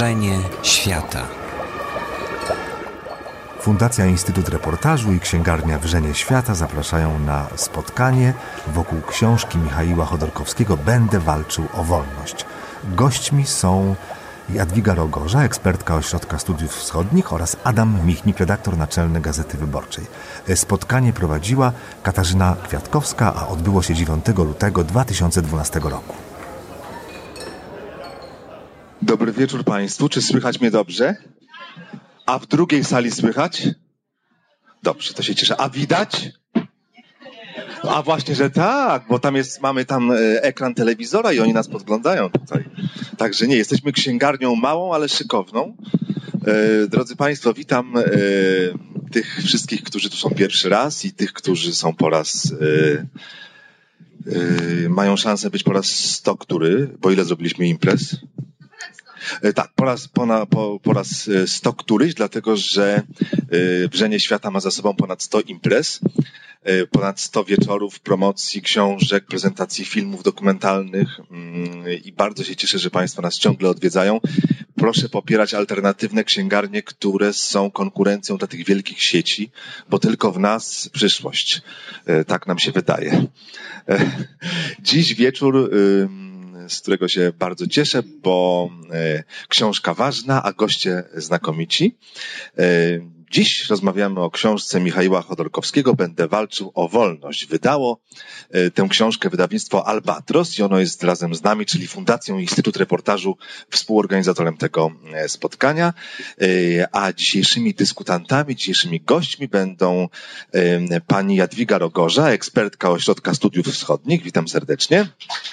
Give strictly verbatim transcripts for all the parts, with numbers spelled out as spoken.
Wrzenie świata. Fundacja Instytut Reportażu i Księgarnia Wrzenie Świata zapraszają na spotkanie wokół książki Michaiła Chodorkowskiego „Będę walczył o wolność”. Gośćmi są Jadwiga Rogorza, ekspertka Ośrodka Studiów Wschodnich, oraz Adam Michnik, redaktor naczelny Gazety Wyborczej. Spotkanie prowadziła Katarzyna Kwiatkowska, a odbyło się dziewiątego lutego dwa tysiące dwunastego roku. Dobry wieczór Państwu. Czy słychać mnie dobrze? A w drugiej sali słychać? Dobrze, to się cieszę. A widać? A właśnie, że tak, bo tam jest, mamy tam ekran telewizora i oni nas podglądają tutaj. Także nie, jesteśmy księgarnią małą, ale szykowną. E, drodzy Państwo, witam e, tych wszystkich, którzy tu są pierwszy raz i tych, którzy są po raz... E, e, mają szansę być po raz sto który, bo ile zrobiliśmy imprez? Tak, po raz, po, po, po raz sto któryś, dlatego że Wrzenie Świata ma za sobą ponad sto imprez, ponad sto wieczorów, promocji, książek, prezentacji filmów dokumentalnych i bardzo się cieszę, że Państwo nas ciągle odwiedzają. Proszę popierać alternatywne księgarnie, które są konkurencją dla tych wielkich sieci, bo tylko w nas przyszłość. Tak nam się wydaje. Dziś wieczór... z którego się bardzo cieszę, bo e, książka ważna, a goście znakomici. E, dziś rozmawiamy o książce Michaiła Chodorkowskiego „Będę walczył o wolność”. Wydało e, tę książkę wydawnictwo Albatros i ono jest razem z nami, czyli Fundacją Instytut Reportażu, współorganizatorem tego e, spotkania. E, a dzisiejszymi dyskutantami, dzisiejszymi gośćmi będą e, pani Jadwiga Rogorza, ekspertka Ośrodka Studiów Wschodnich. Witam serdecznie.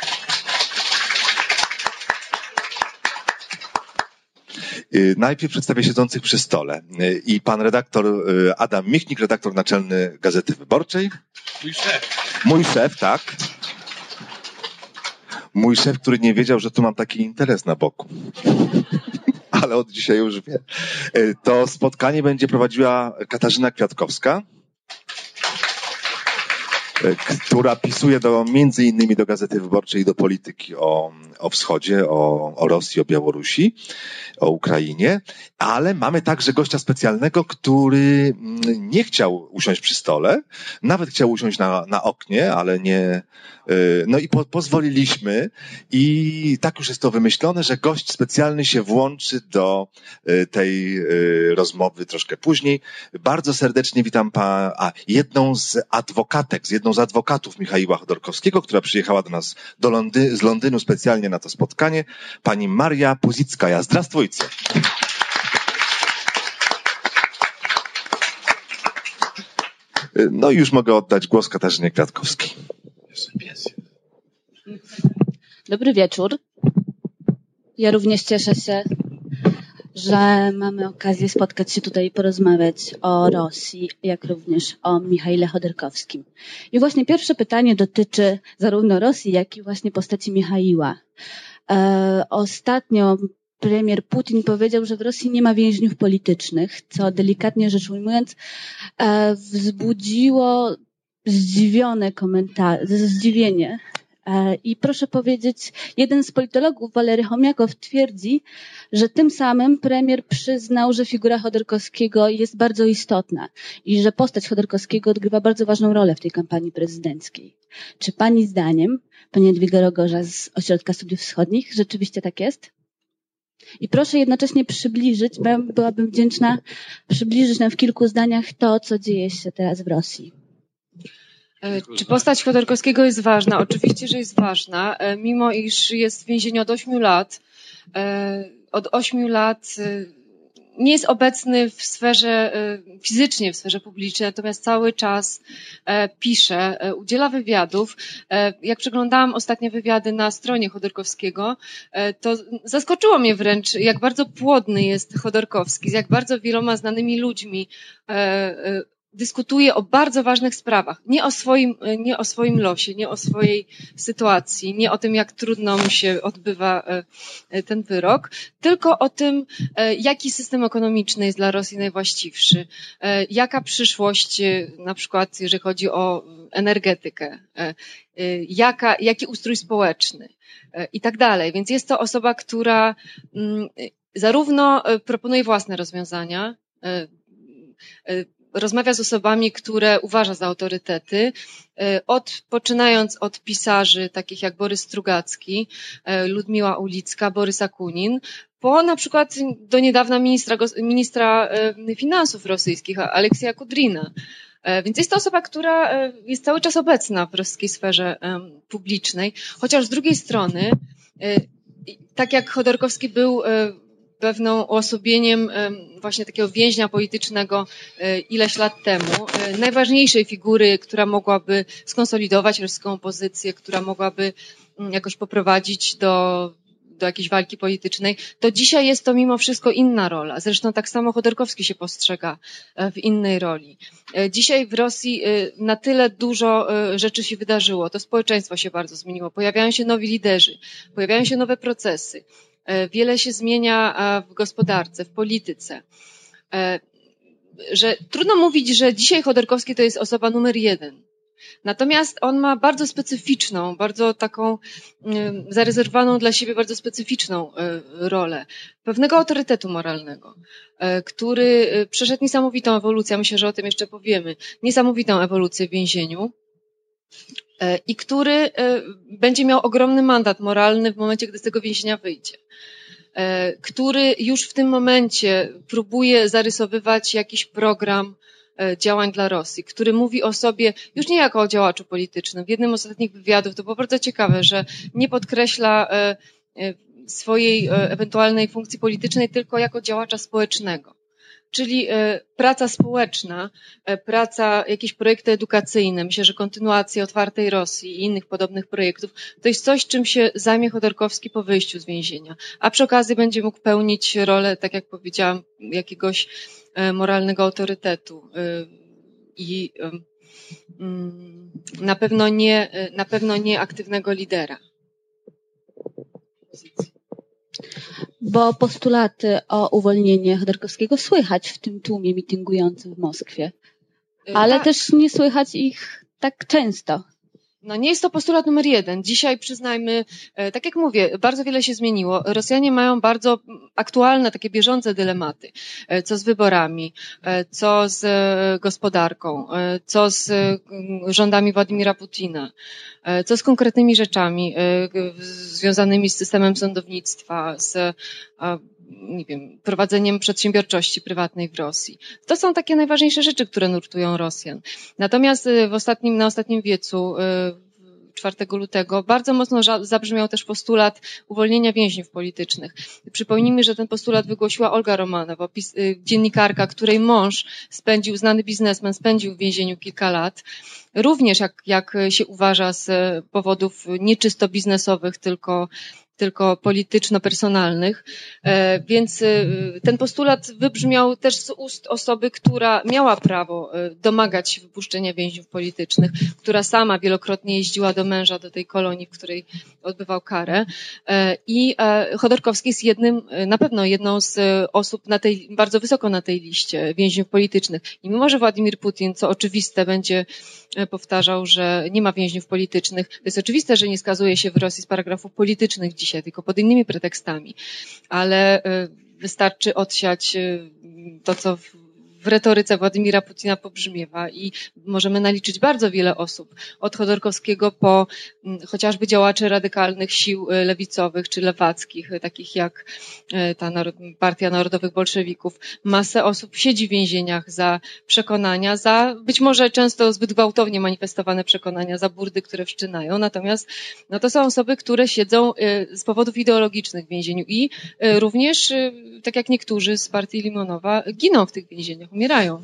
Najpierw przedstawię siedzących przy stole. I pan redaktor Adam Michnik, redaktor naczelny Gazety Wyborczej. Mój szef. Mój szef, tak. Mój szef, który nie wiedział, że tu mam taki interes na boku. Ale od dzisiaj już wie. To spotkanie będzie prowadziła Katarzyna Kwiatkowska, która pisuje do, między innymi do Gazety Wyborczej i do polityki o, o wschodzie, o, o Rosji, o Białorusi, o Ukrainie, ale mamy także gościa specjalnego, który nie chciał usiąść przy stole, nawet chciał usiąść na, na oknie, ale nie, no i po, pozwoliliśmy i tak już jest to wymyślone, że gość specjalny się włączy do tej rozmowy troszkę później. Bardzo serdecznie witam pa, a, jedną z adwokatek, z jedną z adwokatów Michaiła Chodorkowskiego, która przyjechała do nas do Londy- z Londynu specjalnie na to spotkanie, pani Maria Puzickaja. Zdrastwujcie. No i już mogę oddać głos Katarzynie Kwiatkowskiej. Dobry wieczór. Ja również cieszę się, że mamy okazję spotkać się tutaj i porozmawiać o Rosji, jak również o Michaile Chodorkowskim. I właśnie pierwsze pytanie dotyczy zarówno Rosji, jak i właśnie postaci Michaiła. E, ostatnio premier Putin powiedział, że w Rosji nie ma więźniów politycznych, co delikatnie rzecz ujmując e, wzbudziło zdziwione komentarze, zdziwienie. E, I proszę powiedzieć, jeden z politologów, Walery Chomiakow, twierdzi, że tym samym premier przyznał, że figura Chodorkowskiego jest bardzo istotna i że postać Chodorkowskiego odgrywa bardzo ważną rolę w tej kampanii prezydenckiej. Czy pani zdaniem, pani Jadwiga Rogorza z Ośrodka Studiów Wschodnich, rzeczywiście tak jest? I proszę jednocześnie przybliżyć, byłabym wdzięczna, przybliżyć nam w kilku zdaniach to, co dzieje się teraz w Rosji. Czy postać Chodorkowskiego jest ważna? Oczywiście, że jest ważna, mimo iż jest w więzieniu od ośmiu lat. Od ośmiu lat nie jest obecny w sferze, fizycznie w sferze publicznej, natomiast cały czas pisze, udziela wywiadów. Jak przeglądałam ostatnie wywiady na stronie Chodorkowskiego, to zaskoczyło mnie wręcz, jak bardzo płodny jest Chodorkowski, z jak bardzo wieloma znanymi ludźmi dyskutuje o bardzo ważnych sprawach. Nie o swoim, nie o swoim losie, nie o swojej sytuacji, nie o tym, jak trudno mu się odbywa ten wyrok, tylko o tym, jaki system ekonomiczny jest dla Rosji najwłaściwszy, jaka przyszłość, na przykład jeżeli chodzi o energetykę, jaka, jaki ustrój społeczny i tak dalej. Więc jest to osoba, która zarówno proponuje własne rozwiązania, rozmawia z osobami, które uważa za autorytety, od, poczynając od pisarzy takich jak Borys Strugacki, Ludmiła Ulicka, Borys Akunin, po na przykład do niedawna ministra, ministra finansów rosyjskich, Aleksija Kudrina. Więc jest to osoba, która jest cały czas obecna w rosyjskiej sferze publicznej, chociaż z drugiej strony, tak jak Chodorkowski był pewną uosobieniem właśnie takiego więźnia politycznego ileś lat temu, najważniejszej figury, która mogłaby skonsolidować rosyjską opozycję, która mogłaby jakoś poprowadzić do, do jakiejś walki politycznej, to dzisiaj jest to mimo wszystko inna rola. Zresztą tak samo Chodorkowski się postrzega w innej roli. Dzisiaj w Rosji na tyle dużo rzeczy się wydarzyło, to społeczeństwo się bardzo zmieniło, pojawiają się nowi liderzy, pojawiają się nowe procesy. Wiele się zmienia w gospodarce, w polityce, że trudno mówić, że dzisiaj Chodorkowski to jest osoba numer jeden. Natomiast on ma bardzo specyficzną, bardzo taką zarezerwowaną dla siebie bardzo specyficzną rolę pewnego autorytetu moralnego, który przeszedł niesamowitą ewolucję, myślę, że o tym jeszcze powiemy, niesamowitą ewolucję w więzieniu, i który będzie miał ogromny mandat moralny w momencie, gdy z tego więzienia wyjdzie, który już w tym momencie próbuje zarysowywać jakiś program działań dla Rosji, który mówi o sobie już nie jako o działaczu politycznym. W jednym z ostatnich wywiadów to było bardzo ciekawe, że nie podkreśla swojej ewentualnej funkcji politycznej tylko jako działacza społecznego. Czyli praca społeczna, praca, jakieś projekty edukacyjne, myślę, że kontynuacja Otwartej Rosji i innych podobnych projektów, to jest coś, czym się zajmie Chodorkowski po wyjściu z więzienia. A przy okazji będzie mógł pełnić rolę, tak jak powiedziałam, jakiegoś moralnego autorytetu i na pewno nie, na pewno nie aktywnego lidera. Bo postulaty o uwolnienie Chodorkowskiego słychać w tym tłumie mityngującym w Moskwie, ale tak. też nie słychać ich tak często. No nie jest to postulat numer jeden. Dzisiaj przyznajmy, tak jak mówię, bardzo wiele się zmieniło. Rosjanie mają bardzo aktualne, takie bieżące dylematy. Co z wyborami, co z gospodarką, co z rządami Władimira Putina, co z konkretnymi rzeczami związanymi z systemem sądownictwa, z nie wiem, prowadzeniem przedsiębiorczości prywatnej w Rosji. To są takie najważniejsze rzeczy, które nurtują Rosjan. Natomiast w ostatnim, na ostatnim wiecu, czwartego lutego, bardzo mocno zabrzmiał też postulat uwolnienia więźniów politycznych. Przypomnijmy, że ten postulat wygłosiła Olga Romanowa, dziennikarka, której mąż spędził, znany biznesmen, spędził w więzieniu kilka lat. Również, jak, jak się uważa, z powodów nieczysto biznesowych, tylko tylko polityczno-personalnych, więc ten postulat wybrzmiał też z ust osoby, która miała prawo domagać się wypuszczenia więźniów politycznych, która sama wielokrotnie jeździła do męża, do tej kolonii, w której odbywał karę. I Chodorkowski jest jednym, na pewno jedną z osób na tej, bardzo wysoko na tej liście więźniów politycznych. I mimo, że Władimir Putin, co oczywiste, będzie powtarzał, że nie ma więźniów politycznych, to jest oczywiste, że nie skazuje się w Rosji z paragrafów politycznych dzisiaj, tylko pod innymi pretekstami, ale wystarczy odsiać to, co w retoryce Władimira Putina pobrzmiewa i możemy naliczyć bardzo wiele osób, od Chodorkowskiego po chociażby działaczy radykalnych sił lewicowych czy lewackich, takich jak ta Partia Narodowych Bolszewików. Masę osób siedzi w więzieniach za przekonania, za być może często zbyt gwałtownie manifestowane przekonania, za burdy, które wszczynają. Natomiast no to są osoby, które siedzą z powodów ideologicznych w więzieniu i również, tak jak niektórzy z partii Limonowa, giną w tych więzieniach, umierają.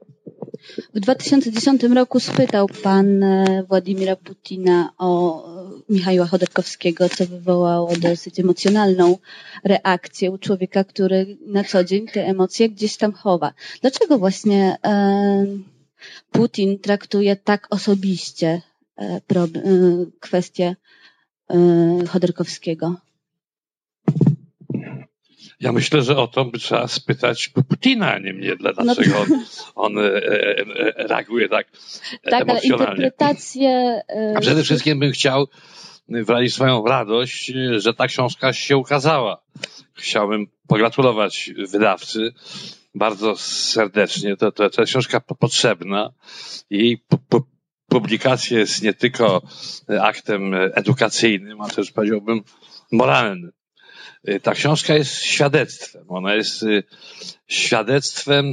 W dwa tysiące dziesiątym roku spytał pan Władimira Putina o Michaiła Chodorkowskiego, co wywołało dosyć emocjonalną reakcję u człowieka, który na co dzień te emocje gdzieś tam chowa. Dlaczego właśnie e, Putin traktuje tak osobiście e, pro, e, kwestię e, Chodorkowskiego? Ja myślę, że o to by trzeba spytać Putina, a nie mnie, dlaczego no to... on, on e, e, reaguje tak, tak emocjonalnie. Ale interpretację... A przede wszystkim bym chciał wyrazić swoją radość, że ta książka się ukazała. Chciałbym pogratulować wydawcy bardzo serdecznie. To, to, to jest książka potrzebna i po, po, publikacja jest nie tylko aktem edukacyjnym, ale też powiedziałbym moralnym. Ta książka jest świadectwem. Ona jest świadectwem,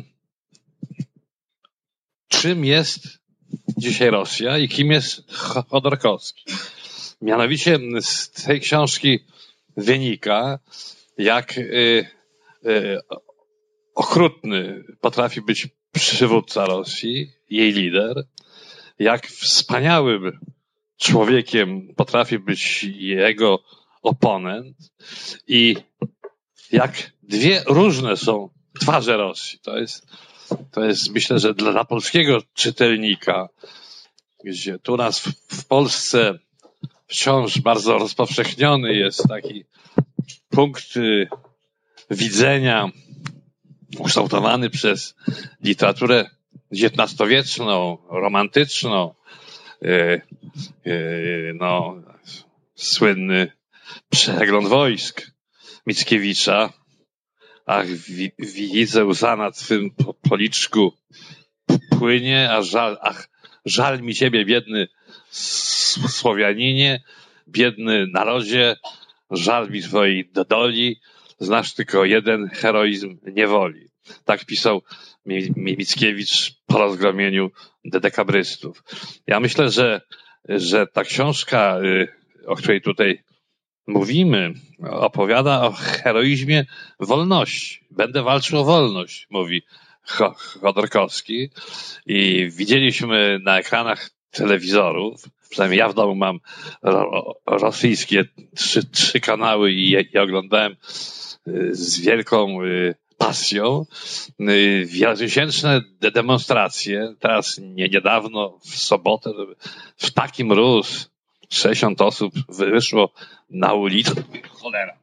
czym jest dzisiaj Rosja i kim jest Chodorkowski. Mianowicie z tej książki wynika, jak y, y, okrutny potrafi być przywódca Rosji, jej lider, jak wspaniałym człowiekiem potrafi być jego oponent i jak dwie różne są twarze Rosji. To jest, to jest myślę, że dla, dla polskiego czytelnika, gdzie tu nas w, w Polsce wciąż bardzo rozpowszechniony jest taki punkt y, widzenia ukształtowany przez literaturę dziewiętnastowieczną, romantyczną, y, y, no, słynny Przegląd wojsk Mickiewicza. Ach, wi, widzę łza na twym policzku płynie, a żal, ach, żal mi ciebie, biedny Słowianinie, biedny narodzie, żal mi twojej doli, znasz tylko jeden heroizm niewoli. Tak pisał Mickiewicz po rozgromieniu dekabrystów. Ja myślę, że, że ta książka, o której tutaj mówimy, opowiada o heroizmie wolności. Będę walczył o wolność, mówi Chodorkowski. I widzieliśmy na ekranach telewizorów, przynajmniej ja w domu mam ro, rosyjskie trzy, trzy kanały i je, je oglądałem z wielką pasją. Wielotysięczne demonstracje, teraz nie, niedawno, w sobotę, w taki mróz, sześćdziesiąt osób wyszło na ulicę. Cholera.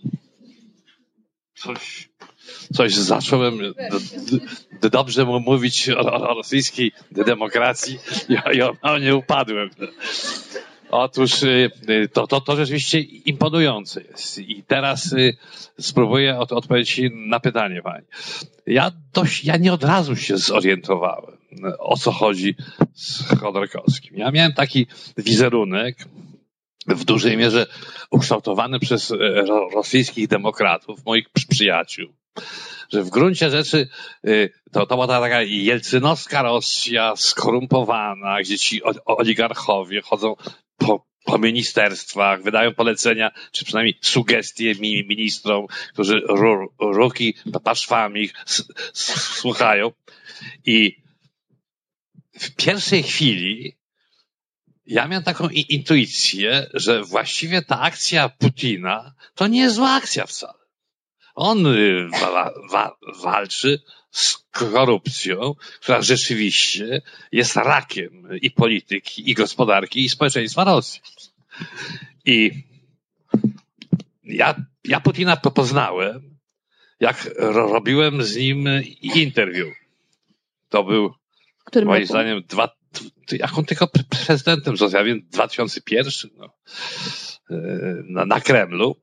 Coś, coś zacząłem d, d, dobrze mówić o, o rosyjskiej demokracji i o, o nie upadłem. Otóż to, to, to rzeczywiście imponujące jest. I teraz spróbuję od, odpowiedzieć na pytanie pani. Ja dość, ja nie od razu się zorientowałem, o co chodzi z Chodorkowskim. Ja miałem taki wizerunek, w dużej mierze ukształtowany przez rosyjskich demokratów, moich przyjaciół, że w gruncie rzeczy to, to była taka jelcynowska Rosja skorumpowana, gdzie ci oligarchowie chodzą po, po ministerstwach, wydają polecenia, czy przynajmniej sugestie ministrom, którzy ru, ruki paszwami słuchają. I w pierwszej chwili ja miałem taką intuicję, że właściwie ta akcja Putina to nie jest zła akcja wcale. On wa, wa, walczy z korupcją, która rzeczywiście jest rakiem i polityki, i gospodarki, i społeczeństwa Rosji. I ja, ja Putina poznałem, jak robiłem z nim interwiu. To był, Którym moim roku? zdaniem, dwa jak on tylko prezydentem został, ja wiem, dwa tysiące pierwszy, no, na, na Kremlu.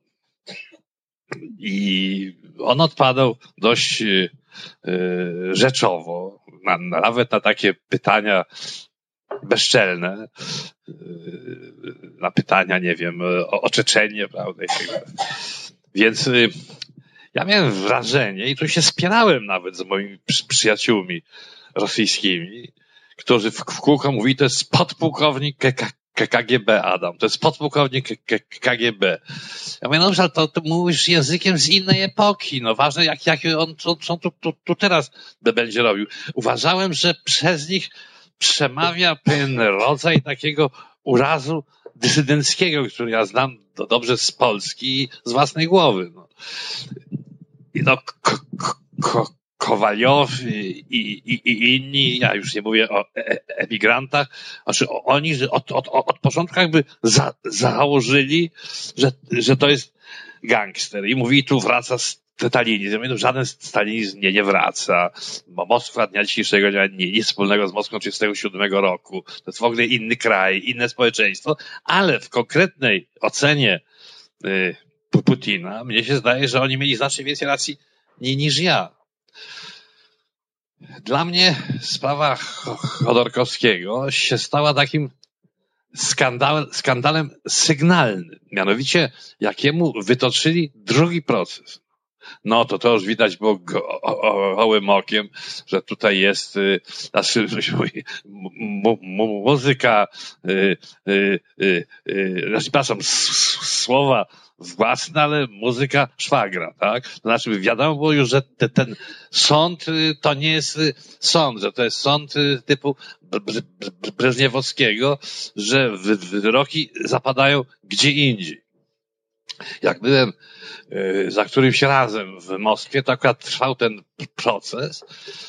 I on odpadał dość y, rzeczowo, na, nawet na takie pytania bezczelne, y, na pytania, nie wiem, o, o Czeczenię, prawda? Więc y, ja miałem wrażenie, i tu się spierałem nawet z moimi przy, przyjaciółmi rosyjskimi, którzy w, w kółko mówili, to jest podpułkownik K G B, Adam, to jest podpułkownik K G B. Ja mówię, no dobrze, ale to, to mówisz językiem z innej epoki, no ważne, jak, jak on, co, co tu, tu, tu teraz będzie robił. Uważałem, że przez nich przemawia pewien rodzaj takiego urazu dysydenckiego, który ja znam do, dobrze z Polski i z własnej głowy. No, I no ko, ko, Kowaliow i, i, i inni, ja już nie mówię o emigrantach, znaczy oni że od, od, od początku jakby za, założyli, że, że to jest gangster i mówi, tu wraca z stalinizm. No, żaden stalinizm nie, nie wraca. Bo Moskwa dnia dzisiejszego nie ma nic wspólnego z Moskwą trzydziestego siódmego roku. To jest w ogóle inny kraj, inne społeczeństwo, ale w konkretnej ocenie y, Putina mnie się zdaje, że oni mieli znacznie więcej racji niż ja. Dla mnie sprawa Chodorkowskiego się stała takim skandal, skandalem sygnalnym. Mianowicie, jakiemu wytoczyli drugi proces. No to to już widać było go, o, gołym okiem, że tutaj jest y, znaczy, mu, mu, muzyka, y, y, y, y, znaczy, przepraszam, słowa własne, ale muzyka szwagra, tak? To znaczy wiadomo było już, że te, ten sąd to nie jest sąd, że to jest sąd typu Breżniewowskiego, że wyroki zapadają gdzie indziej. Jak byłem za którymś razem w Moskwie, to akurat trwał ten proces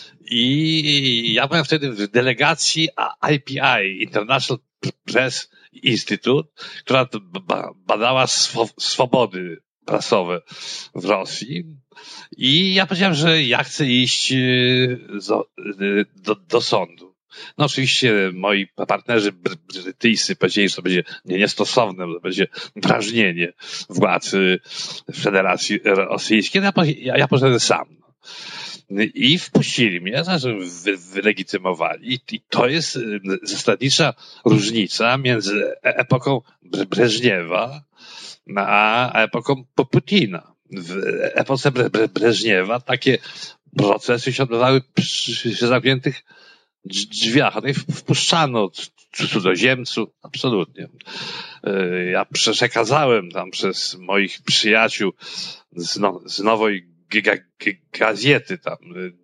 i ja byłem wtedy w delegacji I P I, International Press Institute, która badała swobody prasowe w Rosji i ja powiedziałem, że ja chcę iść do, do, do sądu. No oczywiście moi partnerzy brytyjscy powiedzieli, że to będzie niestosowne, że to będzie drażnienie władz Federacji Rosyjskiej. Ja, ja, ja poszedłem sam. I wpuścili mnie, znaczy wylegitymowali. I to jest zasadnicza różnica między epoką Breżniewa a epoką Putina. W epoce Breżniewa takie procesy się odbywały przy zamkniętych drzwiach, a tutaj wpuszczano cudzoziemców, absolutnie. Ja przekazałem tam przez moich przyjaciół z, no, z nowej g- g- gazety tam,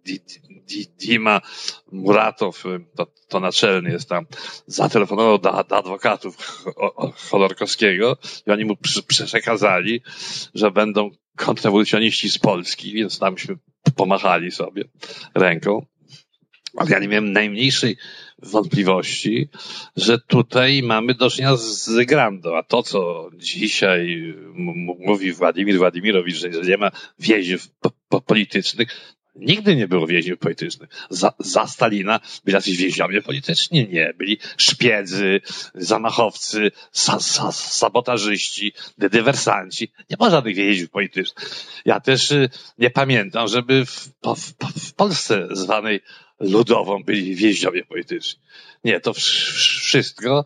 Dima Muratow, to, to naczelny jest tam, zatelefonował do, do adwokatów Chodorkowskiego i oni mu przekazali, że będą kontrrewolucjoniści z Polski, więc tamśmy pomachali sobie ręką. Ale ja nie miałem najmniejszej wątpliwości, że tutaj mamy do czynienia z grandą. A to, co dzisiaj m- mówi Władimir Władimirowicz, że nie ma więźniów po- po- politycznych, nigdy nie było więźniów politycznych. Za, za Stalina byli jacyś więźniowie polityczni? Nie. Byli szpiedzy, zamachowcy, sa, sa, sabotażyści, dywersanci. Nie ma żadnych więźniów politycznych. Ja też y, nie pamiętam, żeby w, w, w Polsce zwanej ludową byli więźniowie polityczni. Nie, to wszystko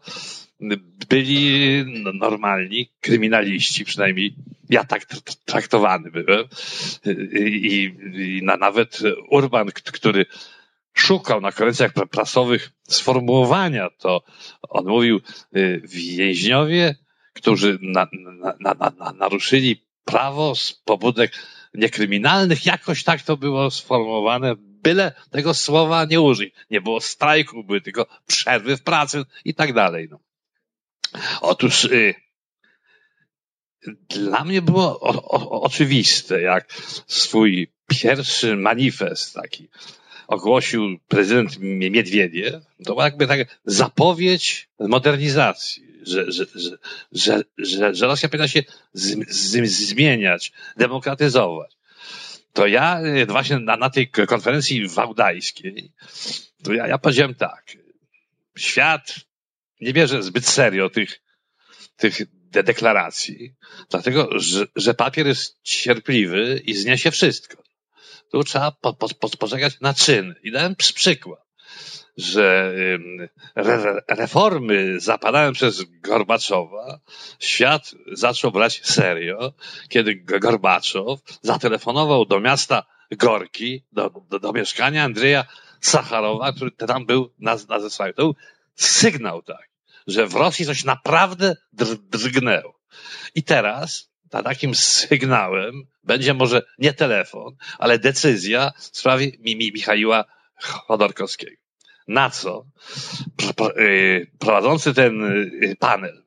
byli normalni kryminaliści, przynajmniej ja tak traktowany byłem. I, i na, nawet Urban, który szukał na konferencjach prasowych sformułowania, to on mówił więźniowie, którzy na, na, na, na, naruszyli prawo z pobudek niekryminalnych, jakoś tak to było sformułowane, byle tego słowa nie użyć. Nie było strajku, były tylko przerwy w pracy i tak dalej. No. Otóż y, dla mnie było o, o, oczywiste, jak swój pierwszy manifest taki ogłosił prezydent Miedwiediew, to była jakby taka zapowiedź modernizacji, że, że, że, że, że, że Rosja powinna się z, z, zmieniać, demokratyzować. To ja właśnie na, na tej konferencji wałdajskiej, to ja, ja powiedziałem tak, świat nie bierze zbyt serio tych, tych de- deklaracji, dlatego, że, że papier jest cierpliwy i zniesie wszystko. Tu trzeba po, po, po, poczekać na czyn. I dałem przykład, że re, reformy zapadane przez Gorbaczowa świat zaczął brać serio, kiedy Gorbaczow zatelefonował do miasta Gorki, do, do, do mieszkania Andrzeja Sacharowa, który tam był na, na zesłaniu. To był sygnał tak, że w Rosji coś naprawdę dr, drgnęło. I teraz za takim sygnałem będzie może nie telefon, ale decyzja w sprawie Mimi Michaiła Chodorkowskiego. Na co prowadzący ten panel,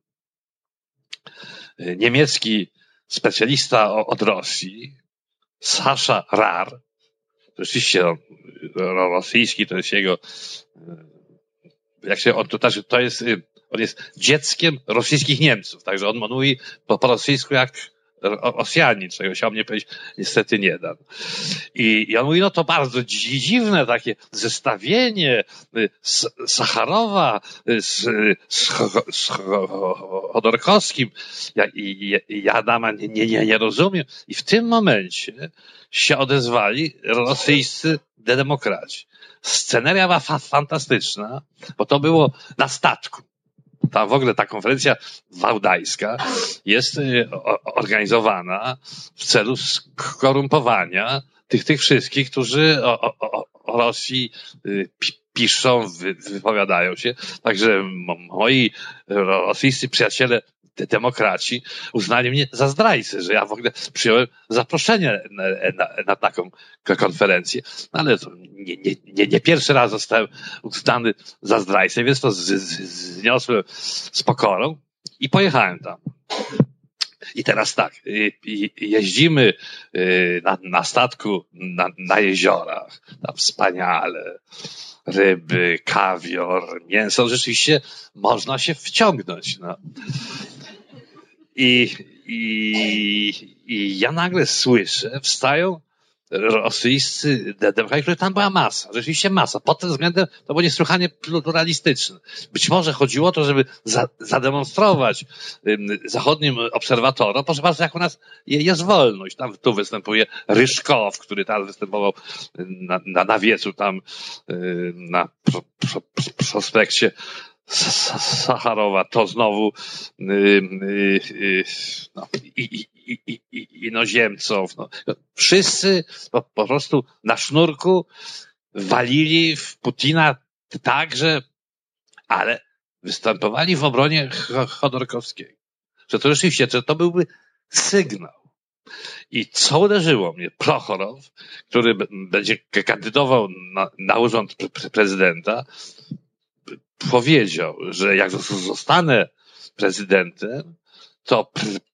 niemiecki specjalista od Rosji, Sasza Rar, rzeczywiście on, rosyjski to jest jego, jak się, on, to, to jest, on jest dzieckiem rosyjskich Niemców, także on mówi po, po rosyjsku jak Rosjanin, czego się o mnie powiedzieć niestety nie da. I, i on mówi, no to bardzo dziwne takie zestawienie Sacharowa z, z, z Chodorkowskim. Ja, i, ja Adama nie, nie, nie rozumiem. I w tym momencie się odezwali rosyjscy demokraci. Sceneria była fa- fantastyczna, bo to było na statku. Ta w ogóle ta konferencja wałdajska jest organizowana w celu skorumpowania tych, tych wszystkich, którzy o, o, o Rosji piszą, wy, wypowiadają się. Także moi rosyjscy przyjaciele demokraci uznali mnie za zdrajcę, że ja w ogóle przyjąłem zaproszenie na, na, na taką konferencję. No ale to nie, nie, nie, nie pierwszy raz zostałem uznany za zdrajcę, więc to z, z, zniosłem z pokorą i pojechałem tam. I teraz tak, jeździmy na, na statku na, na jeziorach, tam wspaniale, ryby, kawior, mięso, rzeczywiście można się wciągnąć. No. I, i, I ja nagle słyszę, wstają rosyjscy demokraci, których tam była masa, rzeczywiście masa. Pod tym względem to było niesłychanie pluralistyczne. Być może chodziło o to, żeby za, zademonstrować um, zachodnim obserwatorom, proszę bardzo, jak u nas jest wolność. Tam tu występuje Ryszkow, który tam występował na, na, na wiecu, tam na pro, pro, pro, prospekcie Sacharowa, to znowu yy, yy, no, i, i, i, i, inozemców. No. Wszyscy po, po prostu na sznurku walili w Putina także, ale występowali w obronie Chodorkowskiego. Że to rzeczywiście, że to byłby sygnał. I co uderzyło mnie? Prochorow, który b- będzie kandydował na, na urząd pre- prezydenta, powiedział, że jak zostanę prezydentem, to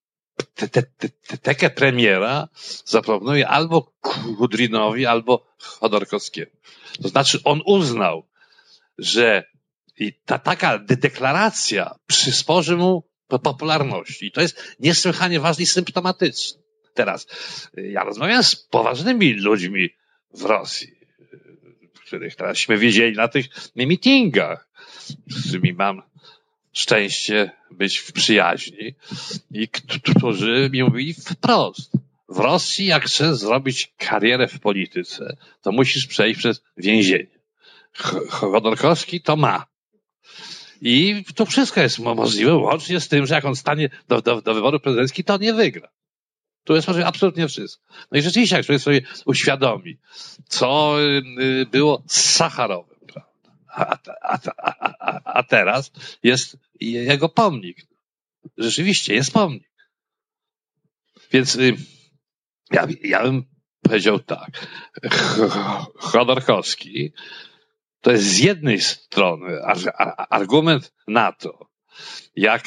tekę premiera zaproponuje albo Kudrynowi, albo Chodorkowskiemu. To znaczy on uznał, że i ta taka deklaracja przysporzy mu popularności. I to jest niesłychanie ważne i symptomatyczne. Teraz, ja rozmawiam z poważnymi ludźmi w Rosji, których teraśmy wiedzieli na tych meetingach, z którymi mam szczęście być w przyjaźni i którzy mi mówili wprost. W Rosji, jak chcesz zrobić karierę w polityce, to musisz przejść przez więzienie. Chodorkowski to ma. I to wszystko jest możliwe, łącznie z tym, że jak on stanie do, do, do wyborów prezydenckich, to nie wygra. Tu jest możliwe absolutnie wszystko. No i rzeczywiście, jak człowiek sobie uświadomi, co było z Sacharowem, A, a, a, a, a teraz jest jego pomnik. Rzeczywiście jest pomnik. Więc ja, ja bym powiedział tak. Chodorkowski to jest z jednej strony argument na to, jak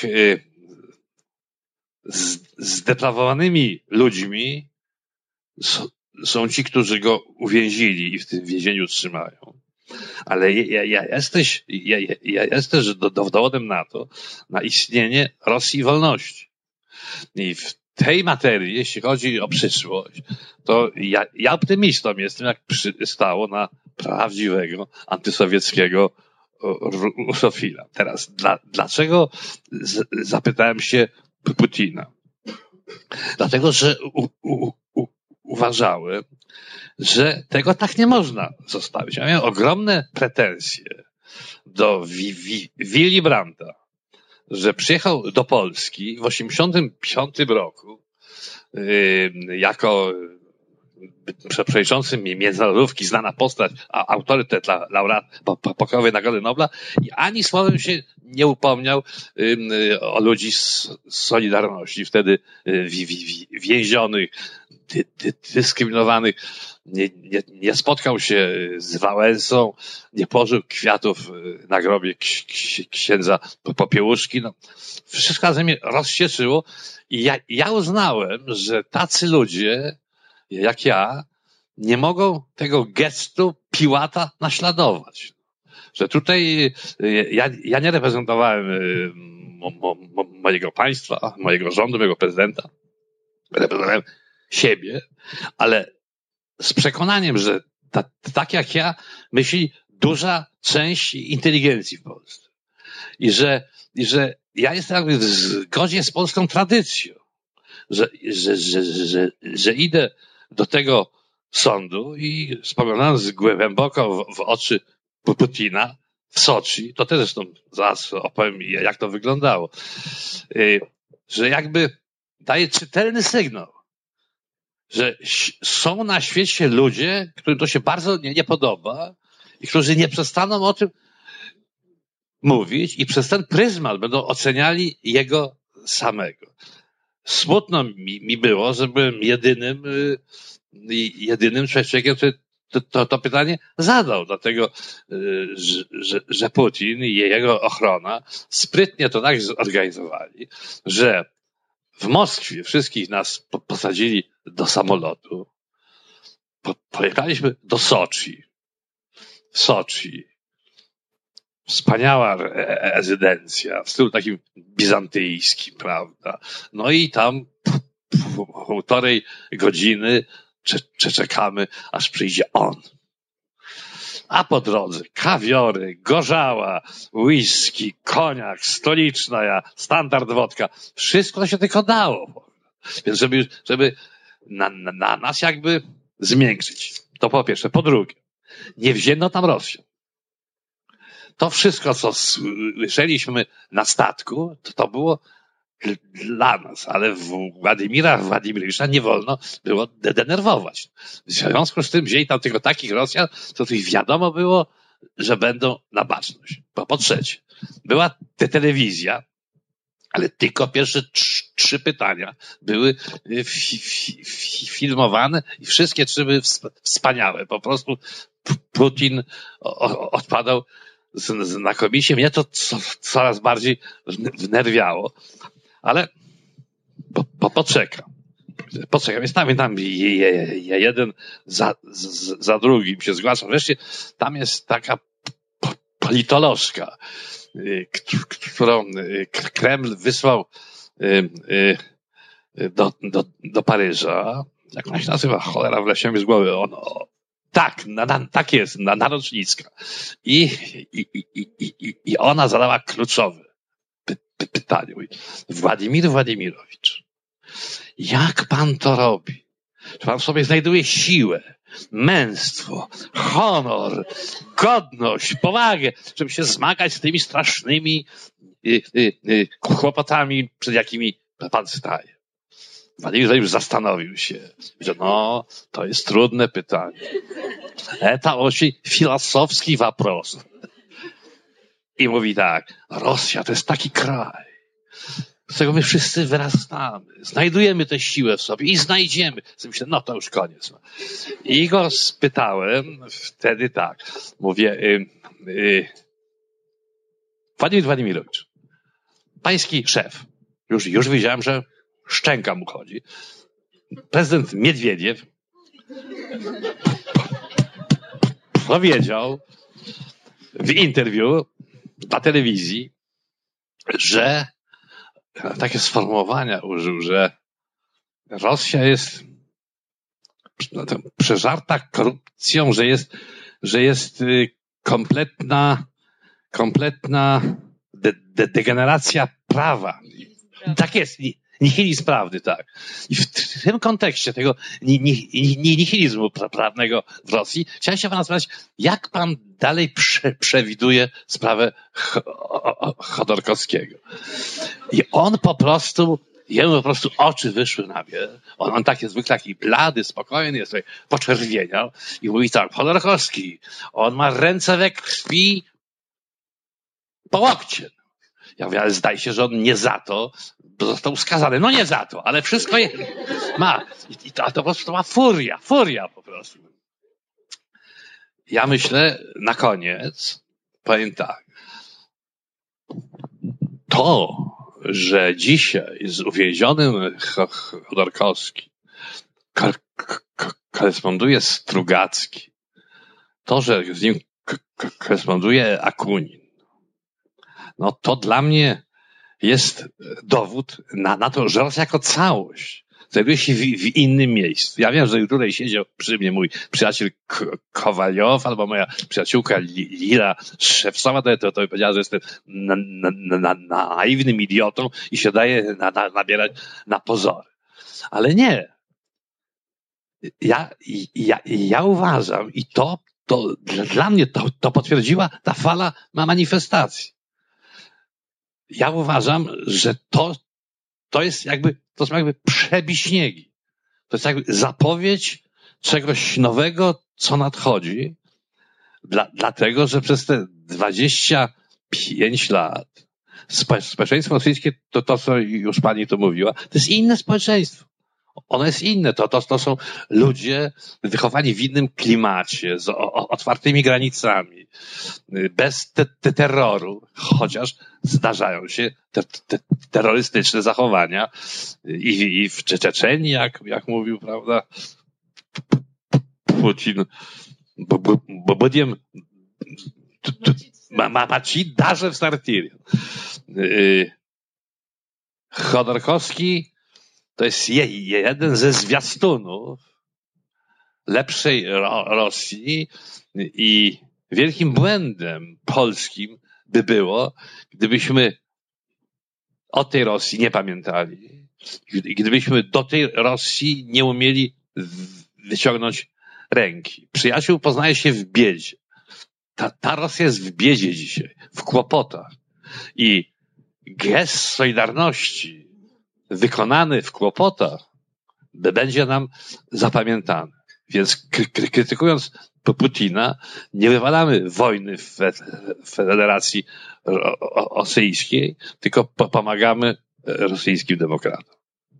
zdeprawowanymi ludźmi są ci, którzy go uwięzili i w tym więzieniu trzymają. Ale ja, ja, jesteś, ja, ja jesteś dowodem na to, na istnienie Rosji wolności. I w tej materii, jeśli chodzi o przyszłość, to ja, ja optymistą jestem, jak przystało na prawdziwego antysowieckiego rusofila. Teraz, dla, dlaczego z, zapytałem się Putina? Dlatego, że u, u, u, uważałem, że tego tak nie można zostawić. Ja miałem ogromne pretensje do Willy Brandta, że przyjechał do Polski w osiemdziesiątym piątym roku yy, jako przewodniczący międzynarodówki, znana postać, a autorytet dla laureat pokojowej Nagrody Nobla i ani słowem się nie upomniał yy, o ludzi z Solidarności, wtedy yy, więzionych, dy, dy, dyskryminowanych. Nie, nie, nie spotkał się z Wałęsą, nie położył kwiatów na grobie księdza Popiełuszki. No, wszystko ze mnie rozścieczyło i ja, ja uznałem, że tacy ludzie, jak ja, nie mogą tego gestu Piłata naśladować. Że tutaj ja, ja nie reprezentowałem mo, mo, mojego państwa, mojego rządu, mojego prezydenta, reprezentem siebie, ale z przekonaniem, że ta, tak jak ja myśli duża część inteligencji w Polsce. I że, i że ja jestem jakby w zgodzie z polską tradycją, że, że, że, że, że idę do tego sądu i spoglądając głęboko w, w oczy Putina w Soczi, to też zresztą zaraz opowiem, jak to wyglądało, że jakby daje czytelny sygnał, że są na świecie ludzie, którym to się bardzo nie, nie podoba i którzy nie przestaną o tym mówić i przez ten pryzmat będą oceniali jego samego. Smutno mi, mi było, że byłem jedynym, jedynym człowiekiem, który to, to, to pytanie zadał, dlatego, że, że, że Putin i jego ochrona sprytnie to tak zorganizowali, że w Moskwie wszystkich nas posadzili do samolotu. Pojechaliśmy do Soczi. W Soczi. Wspaniała rezydencja, w stylu takim bizantyjskim, prawda? No i tam półtorej godziny czekamy, aż przyjdzie on. A po drodze kawiory, gorzała, whisky, koniak, stoliczna, standard wodka. Wszystko to się tylko dało. Więc żeby, żeby na, na, na nas jakby zmiękczyć. To po pierwsze. Po drugie, nie wzięto tam Rosjan. To wszystko, co słyszeliśmy na statku, to, to było dla nas, ale Władimira Władimirowicza nie wolno było denerwować. W związku z tym wzięli tam tylko takich Rosjan, co tu wiadomo było, że będą na baczność. Bo po trzecie, była te telewizja, ale tylko pierwsze trzy, trzy pytania były fi, fi, fi, filmowane i wszystkie trzy były wspaniałe. Po prostu Putin odpadał znakomicie. Mnie to co, coraz bardziej wnerwiało. Ale po, po, poczekam. Poczekam. Jest tam, tam je, je, je, jeden za, z, za drugim się zgłaszam. Wreszcie tam jest taka politolożka, którą Kreml wysłał do, do, do Paryża. Jak ona się nazywa? Cholera, wleciała mi z głowy. Ono, tak, na, na, tak jest, na, narocznicka. I, i, i, i, I ona zadała kluczowe py, py, pytanie. Władimir Władimirowicz, jak pan to robi? Czy pan w sobie znajduje siłę, męstwo, honor, godność, powagę, żeby się zmagać z tymi strasznymi y, y, y, kłopotami, przed jakimi pan staje? Władimir już zastanowił się, że no, to jest trudne pytanie. To очень filozofski вопрос. I mówi tak, Rosja to jest taki kraj, z którego my wszyscy wyrastamy. Znajdujemy tę siłę w sobie i znajdziemy. Myślę, no to już koniec. I go spytałem wtedy tak, mówię, y, y, Władimir Władimirowicz, pański szef, już, już widziałem, że szczęka mu chodzi. Prezydent Miedwiediew powiedział w interwiu na telewizji, że takie sformułowania użył, że Rosja jest przeżarta korupcją, że jest, że jest kompletna, kompletna de, de, degeneracja prawa. Tak jest. Nihilizm prawdy, tak. I w tym kontekście tego nihilizmu prawnego w Rosji chciałem się pana spytać, jak pan dalej prze, przewiduje sprawę Chodorkowskiego? I on po prostu, jemu po prostu oczy wyszły na wierzch. On, on tak jest zwykle taki blady, spokojny, jest tutaj poczerwieniał i mówi tak, Chodorkowski, on ma ręce we krwi po łokcie. Ja mówię, ale zdaje się, że on nie za to został skazany. No nie za to, ale wszystko jest. Ma. I to, to po prostu ma furia, furia po prostu. Ja myślę, na koniec, powiem tak. To, że dzisiaj z uwięzionym Chodorkowski koresponduje Strugacki, to, że z nim koresponduje Akunin, no to dla mnie jest dowód na, na to, że Rosja jako całość znajduje się w, w innym miejscu. Ja wiem, że tutaj siedział przy mnie mój przyjaciel K- Kowaliow albo moja przyjaciółka Lila Szewcowa, to, to, to powiedziała, że jestem na, na, na, na, naiwnym idiotą i się daje na, na, nabierać na pozory. Ale nie. Ja, ja, ja uważam i to, to dla mnie to, to potwierdziła ta fala manifestacji. Ja uważam, że to, to jest jakby, to są jakby przebiśniegi. To jest jakby zapowiedź czegoś nowego, co nadchodzi. Dla, dlatego, że przez te dwadzieścia pięć lat spo, społeczeństwo rosyjskie, to, to co już pani tu mówiła, to jest inne społeczeństwo. Ono jest inne. To, to, to są ludzie wychowani w innym klimacie, z o, o, otwartymi granicami, bez te, te terroru, chociaż zdarzają się te, te terrorystyczne zachowania i, i w Czeczenii, jak, jak mówił, prawda, Putin, bo, bo, bo budiem maci darze w startirie. Chodorkowski to jest jeden ze zwiastunów lepszej Rosji i wielkim błędem polskim by było, gdybyśmy o tej Rosji nie pamiętali, gdybyśmy do tej Rosji nie umieli wyciągnąć ręki. Przyjaciół poznaje się w biedzie. Ta, ta Rosja jest w biedzie dzisiaj, w kłopotach. I gest solidarności wykonany w kłopotach będzie nam zapamiętany. Więc kry- krytykując Putina, nie wywalamy wojny w Federacji Rosyjskiej, tylko pomagamy rosyjskim demokratom.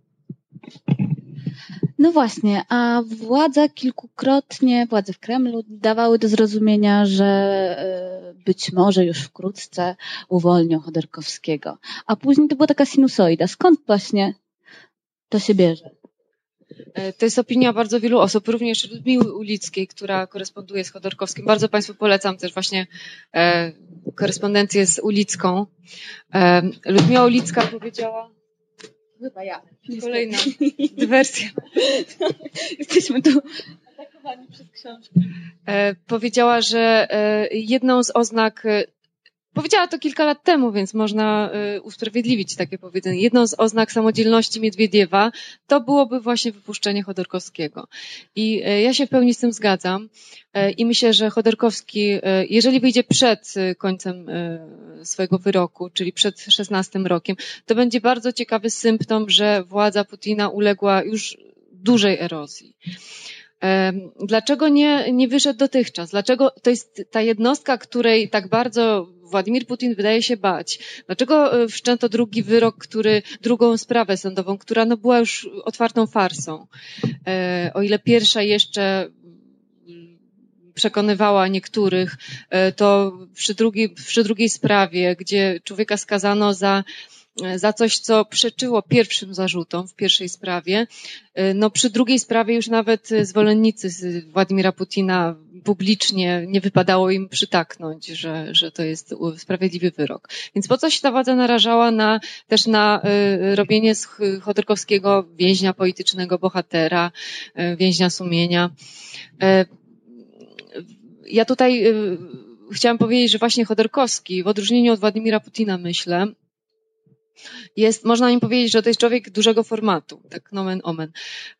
No właśnie, a władze kilkukrotnie, władze w Kremlu dawały do zrozumienia, że być może już wkrótce uwolnią Chodorkowskiego. A później to była taka sinusoida. Skąd właśnie to się bierze? To jest opinia bardzo wielu osób, również Ludmiły Ulickiej, która koresponduje z Chodorkowskim. Bardzo Państwu polecam też właśnie e, korespondencję z Ulicką. E, Ludmiła Ulicka powiedziała... Chyba ja. Kolejna dywersja. Jesteśmy tu atakowani przez książkę. E, powiedziała, że e, jedną z oznak... E, powiedziała to kilka lat temu, więc można e, usprawiedliwić takie powiedzenie. Jedną z oznak samodzielności Miedwiediewa to byłoby właśnie wypuszczenie Chodorkowskiego. I e, ja się w pełni z tym zgadzam. E, I myślę, że Chodorkowski, e, jeżeli wyjdzie przed końcem e, swojego wyroku, czyli przed szesnastym rokiem, to będzie bardzo ciekawy symptom, że władza Putina uległa już dużej erozji. Dlaczego nie, nie wyszedł dotychczas? Dlaczego to jest ta jednostka, której tak bardzo Władimir Putin wydaje się bać? Dlaczego wszczęto drugi wyrok, który, drugą sprawę sądową, która no była już otwartą farsą? O ile pierwsza jeszcze przekonywała niektórych, to przy drugiej, przy drugiej sprawie, gdzie człowieka skazano za za coś, co przeczyło pierwszym zarzutom w pierwszej sprawie. No przy drugiej sprawie już nawet zwolennicy Władimira Putina publicznie nie wypadało im przytaknąć, że, że to jest sprawiedliwy wyrok. Więc po co się ta władza narażała na, też na y, robienie z Chodorkowskiego więźnia politycznego, bohatera, y, więźnia sumienia. Y, ja tutaj y, chciałam powiedzieć, że właśnie Chodorkowski, w odróżnieniu od Władimira Putina, myślę, jest, można im powiedzieć, że to jest człowiek dużego formatu, tak nomen omen.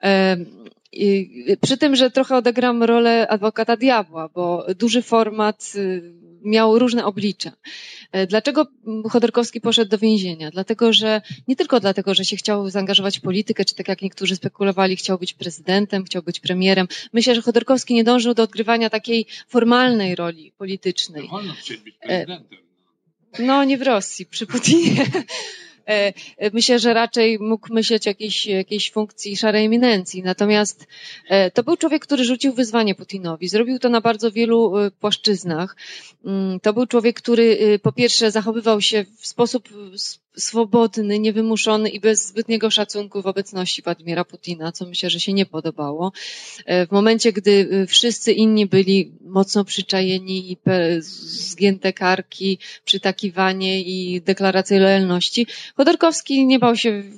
I przy tym, że trochę odegram rolę adwokata diabła, bo duży format miał różne oblicza. Dlaczego Chodorkowski poszedł do więzienia? Dlatego, że nie tylko dlatego, że się chciał zaangażować w politykę, czy tak jak niektórzy spekulowali, chciał być prezydentem, chciał być premierem. Myślę, że Chodorkowski nie dążył do odgrywania takiej formalnej roli politycznej. Wolno chcieć być prezydentem. No, nie w Rosji, przy Putinie. Myślę, że raczej mógł myśleć o jakiejś, jakiejś funkcji szarej eminencji. Natomiast to był człowiek, który rzucił wyzwanie Putinowi. Zrobił to na bardzo wielu płaszczyznach. To był człowiek, który po pierwsze zachowywał się w sposób swobodny, niewymuszony i bez zbytniego szacunku w obecności Władimira Putina, co myślę, że się nie podobało. W momencie, gdy wszyscy inni byli mocno przyczajeni i zgięte karki, przytakiwanie i deklaracje lojalności, Chodorkowski nie bał się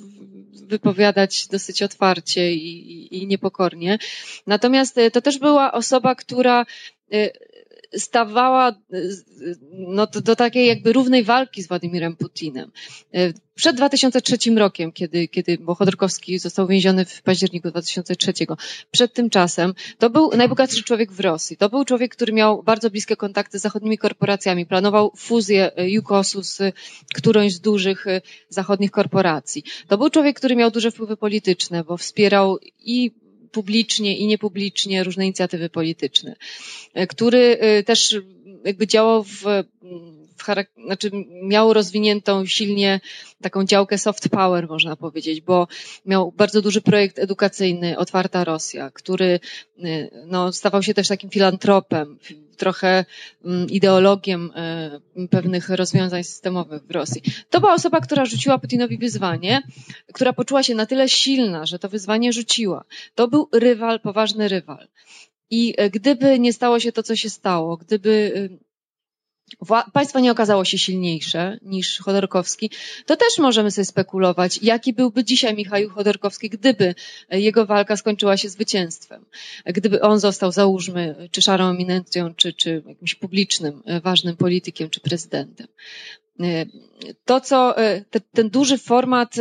wypowiadać dosyć otwarcie i, i, i niepokornie. Natomiast to też była osoba, która stawała no, do, do takiej jakby równej walki z Władimirem Putinem. Przed dwa tysiące trzecim rokiem, kiedy, kiedy bo Chodorkowski został więziony w październiku dwa tysiące trzeciego, przed tym czasem, to był najbogatszy człowiek w Rosji. To był człowiek, który miał bardzo bliskie kontakty z zachodnimi korporacjami, planował fuzję Jukosu z którąś z dużych zachodnich korporacji. To był człowiek, który miał duże wpływy polityczne, bo wspierał i publicznie i niepublicznie różne inicjatywy polityczne, który też jakby działał w, w charak- znaczy miał rozwiniętą silnie taką działkę soft power, można powiedzieć, bo miał bardzo duży projekt edukacyjny Otwarta Rosja, który no, stawał się też takim filantropem, trochę ideologiem pewnych rozwiązań systemowych w Rosji. To była osoba, która rzuciła Putinowi wyzwanie, która poczuła się na tyle silna, że to wyzwanie rzuciła. To był rywal, poważny rywal. I gdyby nie stało się to, co się stało, gdyby państwo nie okazało się silniejsze niż Chodorkowski, to też możemy sobie spekulować, jaki byłby dzisiaj Michaił Chodorkowski, gdyby jego walka skończyła się zwycięstwem. Gdyby on został, załóżmy, czy szarą eminencją, czy, czy jakimś publicznym, ważnym politykiem, czy prezydentem. To, co te, ten duży format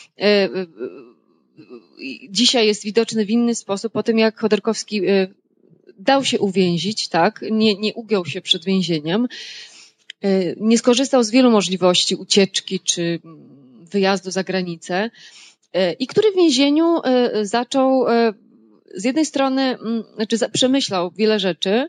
dzisiaj jest widoczny w inny sposób po tym, jak Chodorkowski dał się uwięzić, tak, nie, nie ugiął się przed więzieniem, nie skorzystał z wielu możliwości ucieczki czy wyjazdu za granicę i który w więzieniu zaczął z jednej strony, znaczy przemyślał wiele rzeczy,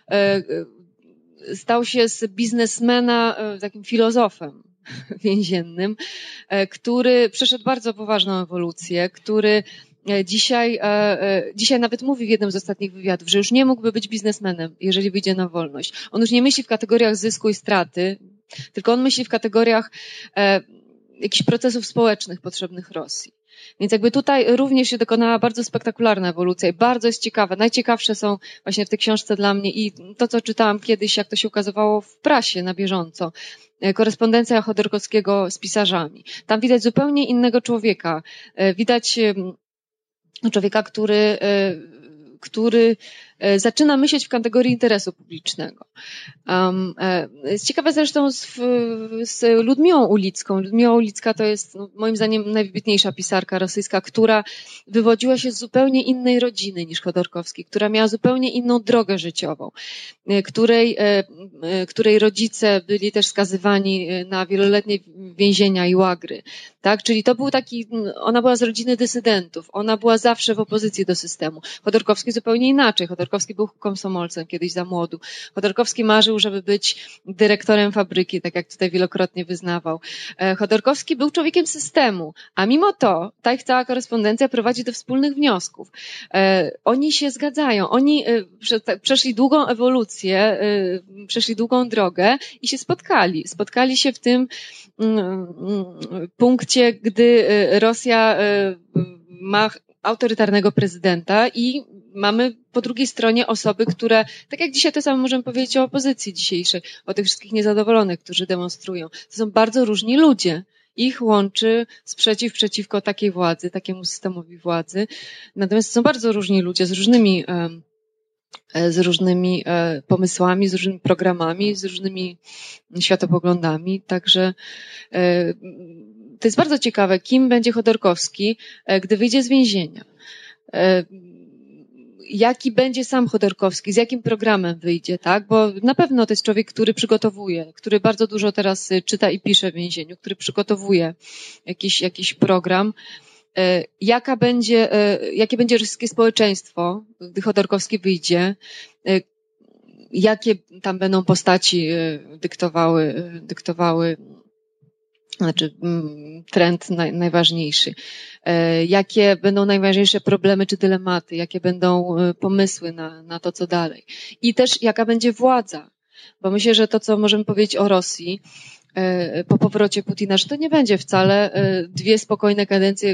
stał się z biznesmena takim filozofem więziennym, który przeszedł bardzo poważną ewolucję, który Dzisiaj, dzisiaj nawet mówi w jednym z ostatnich wywiadów, że już nie mógłby być biznesmenem, jeżeli wyjdzie na wolność. On już nie myśli w kategoriach zysku i straty, tylko on myśli w kategoriach jakichś procesów społecznych potrzebnych Rosji. Więc jakby tutaj również się dokonała bardzo spektakularna ewolucja i bardzo jest ciekawe. Najciekawsze są właśnie w tej książce dla mnie i to, co czytałam kiedyś, jak to się ukazywało w prasie na bieżąco. Korespondencja Chodorkowskiego z pisarzami. Tam widać zupełnie innego człowieka. Widać człowieka, który, który zaczyna myśleć w kategorii interesu publicznego. Um, jest ciekawe zresztą z, z Ludmiłą Ulicką. Ludmiła Ulicka to jest no, moim zdaniem najwybitniejsza pisarka rosyjska, która wywodziła się z zupełnie innej rodziny niż Chodorkowski, która miała zupełnie inną drogę życiową, której, której rodzice byli też skazywani na wieloletnie więzienia i łagry. Tak? Czyli to był taki, ona była z rodziny dysydentów, ona była zawsze w opozycji do systemu. Chodorkowski zupełnie inaczej. Chodorkowski był komsomolcem kiedyś za młodu. Chodorkowski marzył, żeby być dyrektorem fabryki, tak jak tutaj wielokrotnie wyznawał. Chodorkowski był człowiekiem systemu, a mimo to ta ich cała korespondencja prowadzi do wspólnych wniosków. Oni się zgadzają, oni przeszli długą ewolucję, przeszli długą drogę i się spotkali. Spotkali się w tym punkcie, gdy Rosja ma autorytarnego prezydenta i mamy po drugiej stronie osoby, które, tak jak dzisiaj to samo możemy powiedzieć o opozycji dzisiejszej, o tych wszystkich niezadowolonych, którzy demonstrują. To są bardzo różni ludzie. Ich łączy sprzeciw przeciwko takiej władzy, takiemu systemowi władzy. Natomiast są bardzo różni ludzie z różnymi, z różnymi pomysłami, z różnymi programami, z różnymi światopoglądami. Także to jest bardzo ciekawe, kim będzie Chodorkowski, gdy wyjdzie z więzienia. Jaki będzie sam Chodorkowski, z jakim programem wyjdzie, tak? Bo na pewno to jest człowiek, który przygotowuje, który bardzo dużo teraz czyta i pisze w więzieniu, który przygotowuje jakiś, jakiś program. Jaka będzie, jakie będzie rosyjskie społeczeństwo, gdy Chodorkowski wyjdzie? Jakie tam będą postaci dyktowały, dyktowały znaczy trend naj, najważniejszy. Jakie będą najważniejsze problemy czy dylematy, jakie będą pomysły na, na to, co dalej. I też jaka będzie władza. Bo myślę, że to, co możemy powiedzieć o Rosji po powrocie Putina, że to nie będzie wcale dwie spokojne kadencje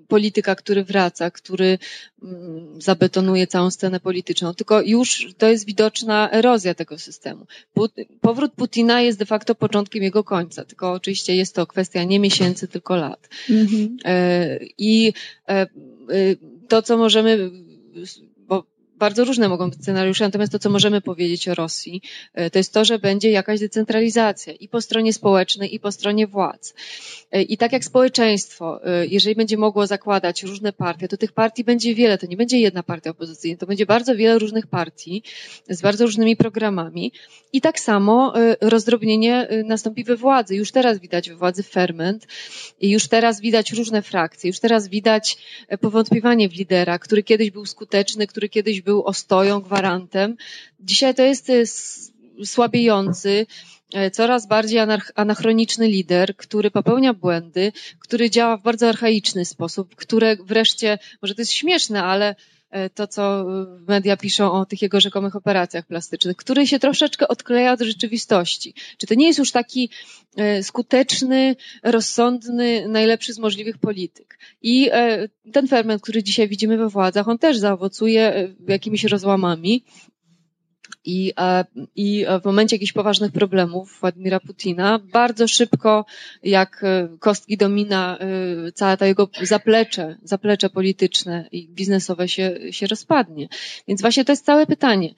polityka, który wraca, który zabetonuje całą scenę polityczną, tylko już to jest widoczna erozja tego systemu. Powrót Putina jest de facto początkiem jego końca, tylko oczywiście jest to kwestia nie miesięcy, tylko lat. Mm-hmm. I to, co możemy, bo bardzo różne mogą być scenariusze, natomiast to, co możemy powiedzieć o Rosji, to jest to, że będzie jakaś decentralizacja i po stronie społecznej, i po stronie władz. I tak jak społeczeństwo, jeżeli będzie mogło zakładać różne partie, to tych partii będzie wiele, to nie będzie jedna partia opozycyjna, to będzie bardzo wiele różnych partii z bardzo różnymi programami i tak samo rozdrobnienie nastąpi we władzy. Już teraz widać we władzy ferment i już teraz widać różne frakcje, już teraz widać powątpiewanie w lidera, który kiedyś był skuteczny, który kiedyś był ostoją, gwarantem. Dzisiaj to jest słabiejący, coraz bardziej anachroniczny lider, który popełnia błędy, który działa w bardzo archaiczny sposób, które wreszcie, może to jest śmieszne, ale to, co media piszą o tych jego rzekomych operacjach plastycznych, który się troszeczkę odkleja od rzeczywistości. Czy to nie jest już taki skuteczny, rozsądny, najlepszy z możliwych polityk? I ten ferment, który dzisiaj widzimy we władzach, on też zaowocuje jakimiś rozłamami. I, I w momencie jakichś poważnych problemów Władimira Putina bardzo szybko, jak kostki domina, cała ta jego zaplecze, zaplecze polityczne i biznesowe się, się rozpadnie. Więc właśnie to jest całe pytanie.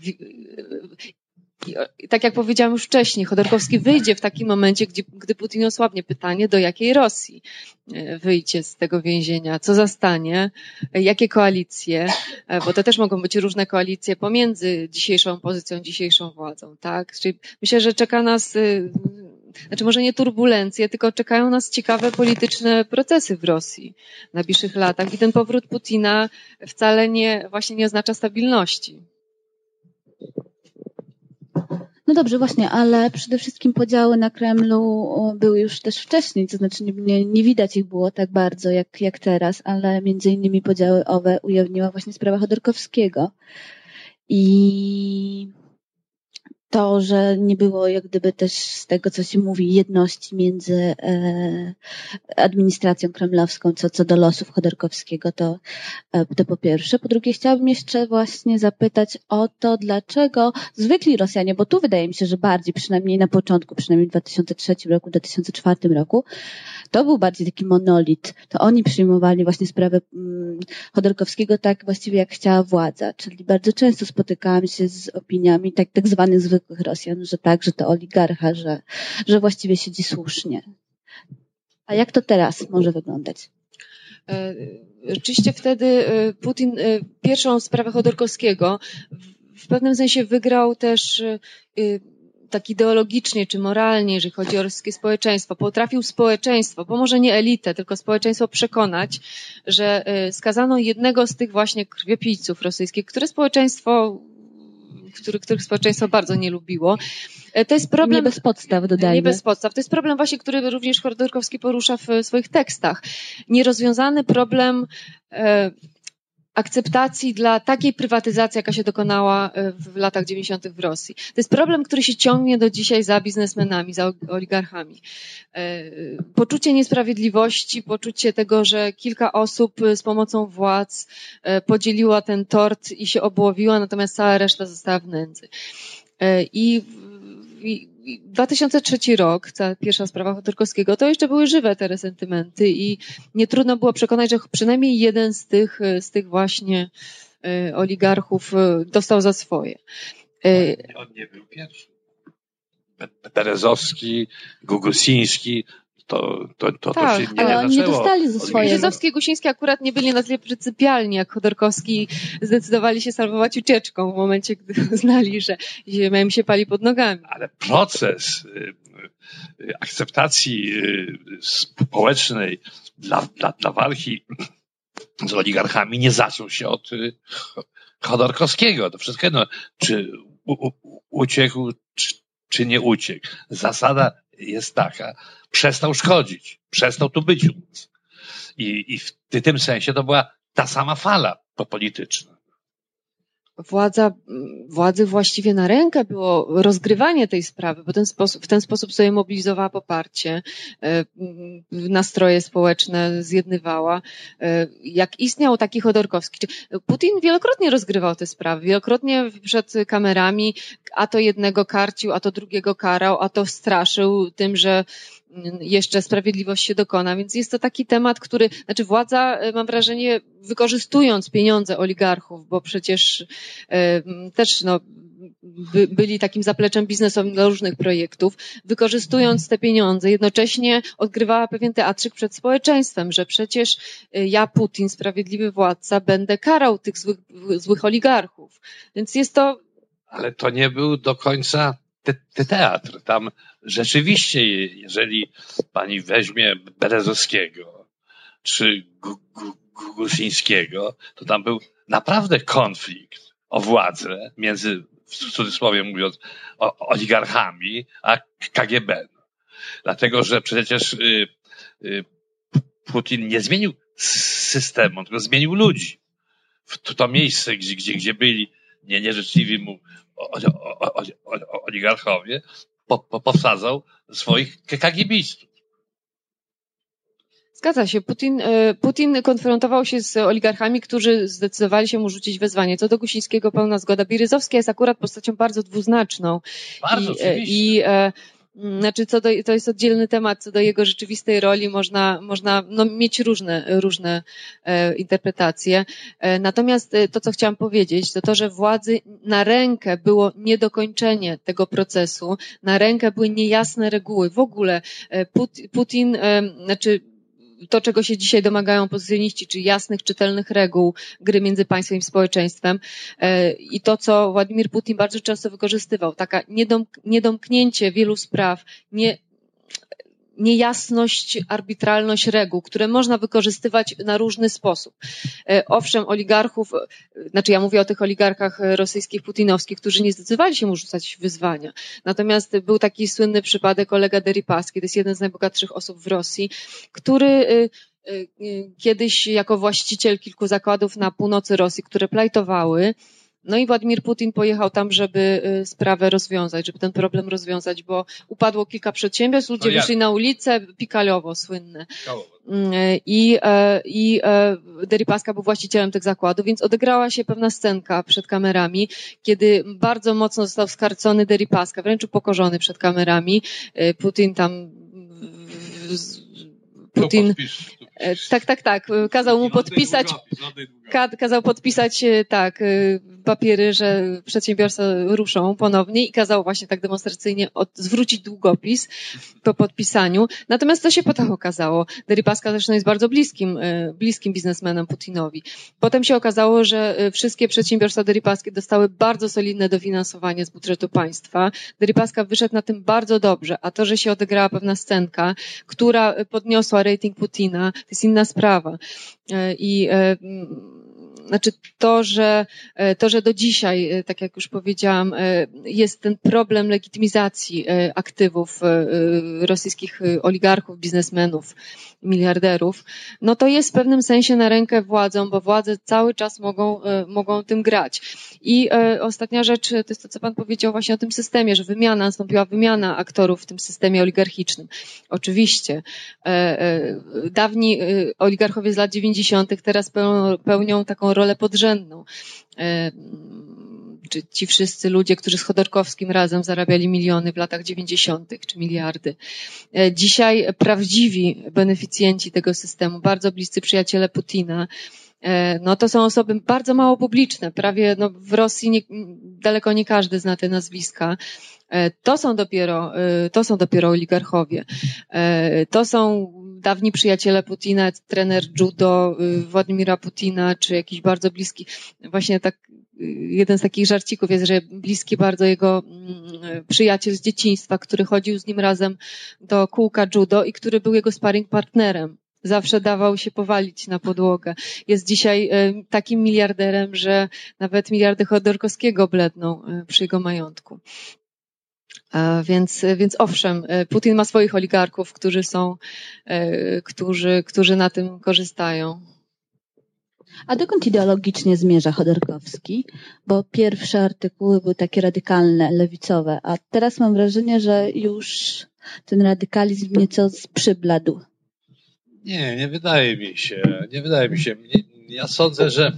I tak jak powiedziałam już wcześniej, Chodorkowski wyjdzie w takim momencie, gdzie, gdy Putin osłabnie. Pytanie, do jakiej Rosji wyjdzie z tego więzienia, co zastanie, jakie koalicje, bo to też mogą być różne koalicje pomiędzy dzisiejszą opozycją, dzisiejszą władzą, tak? Czyli myślę, że czeka nas, znaczy może nie turbulencje, tylko czekają nas ciekawe polityczne procesy w Rosji w najbliższych latach i ten powrót Putina wcale nie, właśnie nie oznacza stabilności. No dobrze, właśnie, ale przede wszystkim podziały na Kremlu były już też wcześniej, to znaczy nie, nie widać ich było tak bardzo jak, jak teraz, ale między innymi podziały owe ujawniła właśnie sprawa Chodorkowskiego. I to, że nie było jak gdyby też z tego, co się mówi, jedności między e, administracją kremlowską co, co do losów Chodorkowskiego, to, e, to po pierwsze. Po drugie, chciałabym jeszcze właśnie zapytać o to, dlaczego zwykli Rosjanie, bo tu wydaje mi się, że bardziej, przynajmniej na początku, przynajmniej w dwa tysiące trzecim roku, dwa tysiące czwartym roku, to był bardziej taki monolit. To oni przyjmowali właśnie sprawę mm, Chodorkowskiego tak właściwie jak chciała władza. Czyli bardzo często spotykałam się z opiniami tak, tak zwanych zwykłych Rosjan, że tak, że to oligarcha, że, że właściwie siedzi słusznie. A jak to teraz może wyglądać? Rzeczywiście wtedy Putin pierwszą sprawę Chodorkowskiego w pewnym sensie wygrał też tak ideologicznie czy moralnie, jeżeli chodzi o rosyjskie społeczeństwo. Potrafił społeczeństwo, bo może nie elitę, tylko społeczeństwo przekonać, że skazano jednego z tych właśnie krwiopijców rosyjskich, które społeczeństwo Który, których społeczeństwo bardzo nie lubiło. To jest problem... Nie bez podstaw, dodajmy. Nie bez podstaw. To jest problem właśnie, który również Chodorkowski porusza w swoich tekstach. Nierozwiązany problem e, akceptacji dla takiej prywatyzacji, jaka się dokonała w latach dziewięćdziesiątych w Rosji. To jest problem, który się ciągnie do dzisiaj za biznesmenami, za oligarchami. Poczucie niesprawiedliwości, poczucie tego, że kilka osób z pomocą władz podzieliła ten tort i się obłowiła, natomiast cała reszta została w nędzy. I dwa tysiące trzeci rok, ta pierwsza sprawa Chodorkowskiego, to jeszcze były żywe te resentymenty i nie trudno było przekonać, że przynajmniej jeden z tych, z tych właśnie oligarchów dostał za swoje. On nie był pierwszy. Berezowski, Gugusiński, to, to, to, tak, to się nie, ale nie oni nie dostali za swoje. Berezowski i Gusiński akurat nie byli na tyle pryncypialni jak Chodorkowski, zdecydowali się salwować ucieczką w momencie, gdy uznali, że ziemia im się pali pod nogami. Ale proces akceptacji społecznej dla, dla, dla walki z oligarchami nie zaczął się od Chodorkowskiego. To wszystko jedno, czy u, u, uciekł, czy, czy nie uciekł. Zasada jest taka, przestał szkodzić, przestał tu być u nas. I, i w tym sensie to była ta sama fala polityczna. władza, władzy właściwie na rękę było rozgrywanie tej sprawy, bo ten sposób, w ten sposób sobie mobilizowała poparcie, nastroje społeczne zjednywała. Jak istniał taki Chodorkowski, Putin wielokrotnie rozgrywał te sprawy, wielokrotnie przed kamerami, a to jednego karcił, a to drugiego karał, a to straszył tym, że jeszcze sprawiedliwość się dokona, więc jest to taki temat, który, znaczy władza, mam wrażenie, wykorzystując pieniądze oligarchów, bo przecież e, też no, by, byli takim zapleczem biznesowym dla różnych projektów, wykorzystując te pieniądze, jednocześnie odgrywała pewien teatrzyk przed społeczeństwem, że przecież ja, Putin, sprawiedliwy władca, będę karał tych złych, złych oligarchów. Więc jest to... Ale to nie był do końca te, te teatr. Tam rzeczywiście, jeżeli pani weźmie Berezowskiego czy Gusińskiego, to tam był naprawdę konflikt o władzę między, w cudzysłowie mówiąc, oligarchami a K G B. Dlatego, że przecież y, y, Putin nie zmienił systemu, tylko zmienił ludzi. W to miejsce, gdzie, gdzie, gdzie byli nie, nieżyczliwi mu oligarchowie, po, po, powsadzał swoich kagibistów. Zgadza się. Putin, Putin konfrontował się z oligarchami, którzy zdecydowali się mu rzucić wezwanie. Co do Gusińskiego pełna zgoda. Bieryzowski jest akurat postacią bardzo dwuznaczną. Bardzo, I, oczywiście. I, Znaczy, co do, to jest oddzielny temat, co do jego rzeczywistej roli można, można no, mieć różne, różne e, interpretacje. E, natomiast to, co chciałam powiedzieć, to to, że władzy na rękę było niedokończenie tego procesu, na rękę były niejasne reguły. W ogóle e, Putin, e, znaczy to, czego się dzisiaj domagają opozycjoniści, czyli jasnych, czytelnych reguł gry między państwem i społeczeństwem i to, co Władimir Putin bardzo często wykorzystywał, taka niedomknięcie wielu spraw, nie, niejasność, arbitralność reguł, które można wykorzystywać na różny sposób. Owszem, oligarchów, znaczy ja mówię o tych oligarchach rosyjskich, putinowskich, którzy nie zdecydowali się mu rzucać wyzwania. Natomiast był taki słynny przypadek Olega Deripaski, to jest jeden z najbogatszych osób w Rosji, który kiedyś jako właściciel kilku zakładów na północy Rosji, które plajtowały, no i Władimir Putin pojechał tam, żeby sprawę rozwiązać, żeby ten problem rozwiązać, bo upadło kilka przedsiębiorstw, ludzie wyszli na ulicę, Pikalowo słynne. I, i Deripaska był właścicielem tych zakładów, więc odegrała się pewna scenka przed kamerami, kiedy bardzo mocno został skarcony Deripaska, wręcz upokorzony przed kamerami. Putin tam... Putin... Tak, tak, tak. Kazał mu podpisać, kazał podpisać, tak, papiery, że przedsiębiorstwa ruszą ponownie i kazał właśnie tak demonstracyjnie od, zwrócić długopis po podpisaniu. Natomiast co się potem okazało? Deripaska zresztą jest bardzo bliskim, bliskim biznesmenem Putinowi. Potem się okazało, że wszystkie przedsiębiorstwa Deripaski dostały bardzo solidne dofinansowanie z budżetu państwa. Deripaska wyszedł na tym bardzo dobrze, a to, że się odegrała pewna scenka, która podniosła rating Putina, to jest inna sprawa. I znaczy to, że to, że do dzisiaj, tak jak już powiedziałam, jest ten problem legitymizacji aktywów rosyjskich oligarchów, biznesmenów, miliarderów, no to jest w pewnym sensie na rękę władzom, bo władze cały czas mogą, mogą tym grać. I ostatnia rzecz, to jest to, co pan powiedział właśnie o tym systemie, że wymiana, nastąpiła wymiana aktorów w tym systemie oligarchicznym. Oczywiście. Dawni oligarchowie z lat dziewięćdziesiątych teraz pełnią, pełnią taką rolę podrzędną. Czy ci wszyscy ludzie, którzy z Chodorkowskim razem zarabiali miliony w latach dziewięćdziesiątych czy miliardy. Dzisiaj prawdziwi beneficjenci tego systemu, bardzo bliscy przyjaciele Putina, no to są osoby bardzo mało publiczne. Prawie no w Rosji nie, daleko nie każdy zna te nazwiska. To są dopiero, to są dopiero oligarchowie. To są dawni przyjaciele Putina, trener judo Władimira Putina, czy jakiś bardzo bliski, właśnie tak, jeden z takich żarcików jest, że bliski bardzo jego przyjaciel z dzieciństwa, który chodził z nim razem do kółka judo i który był jego sparring partnerem. Zawsze dawał się powalić na podłogę. Jest dzisiaj takim miliarderem, że nawet miliardy Chodorkowskiego bledną przy jego majątku. Więc, więc owszem, Putin ma swoich oligarchów, którzy są, którzy, którzy na tym korzystają. A dokąd ideologicznie zmierza Chodorkowski? Bo pierwsze artykuły były takie radykalne, lewicowe, a teraz mam wrażenie, że już ten radykalizm nieco przybladł. Nie, nie wydaje mi się. Nie wydaje mi się. Ja sądzę, że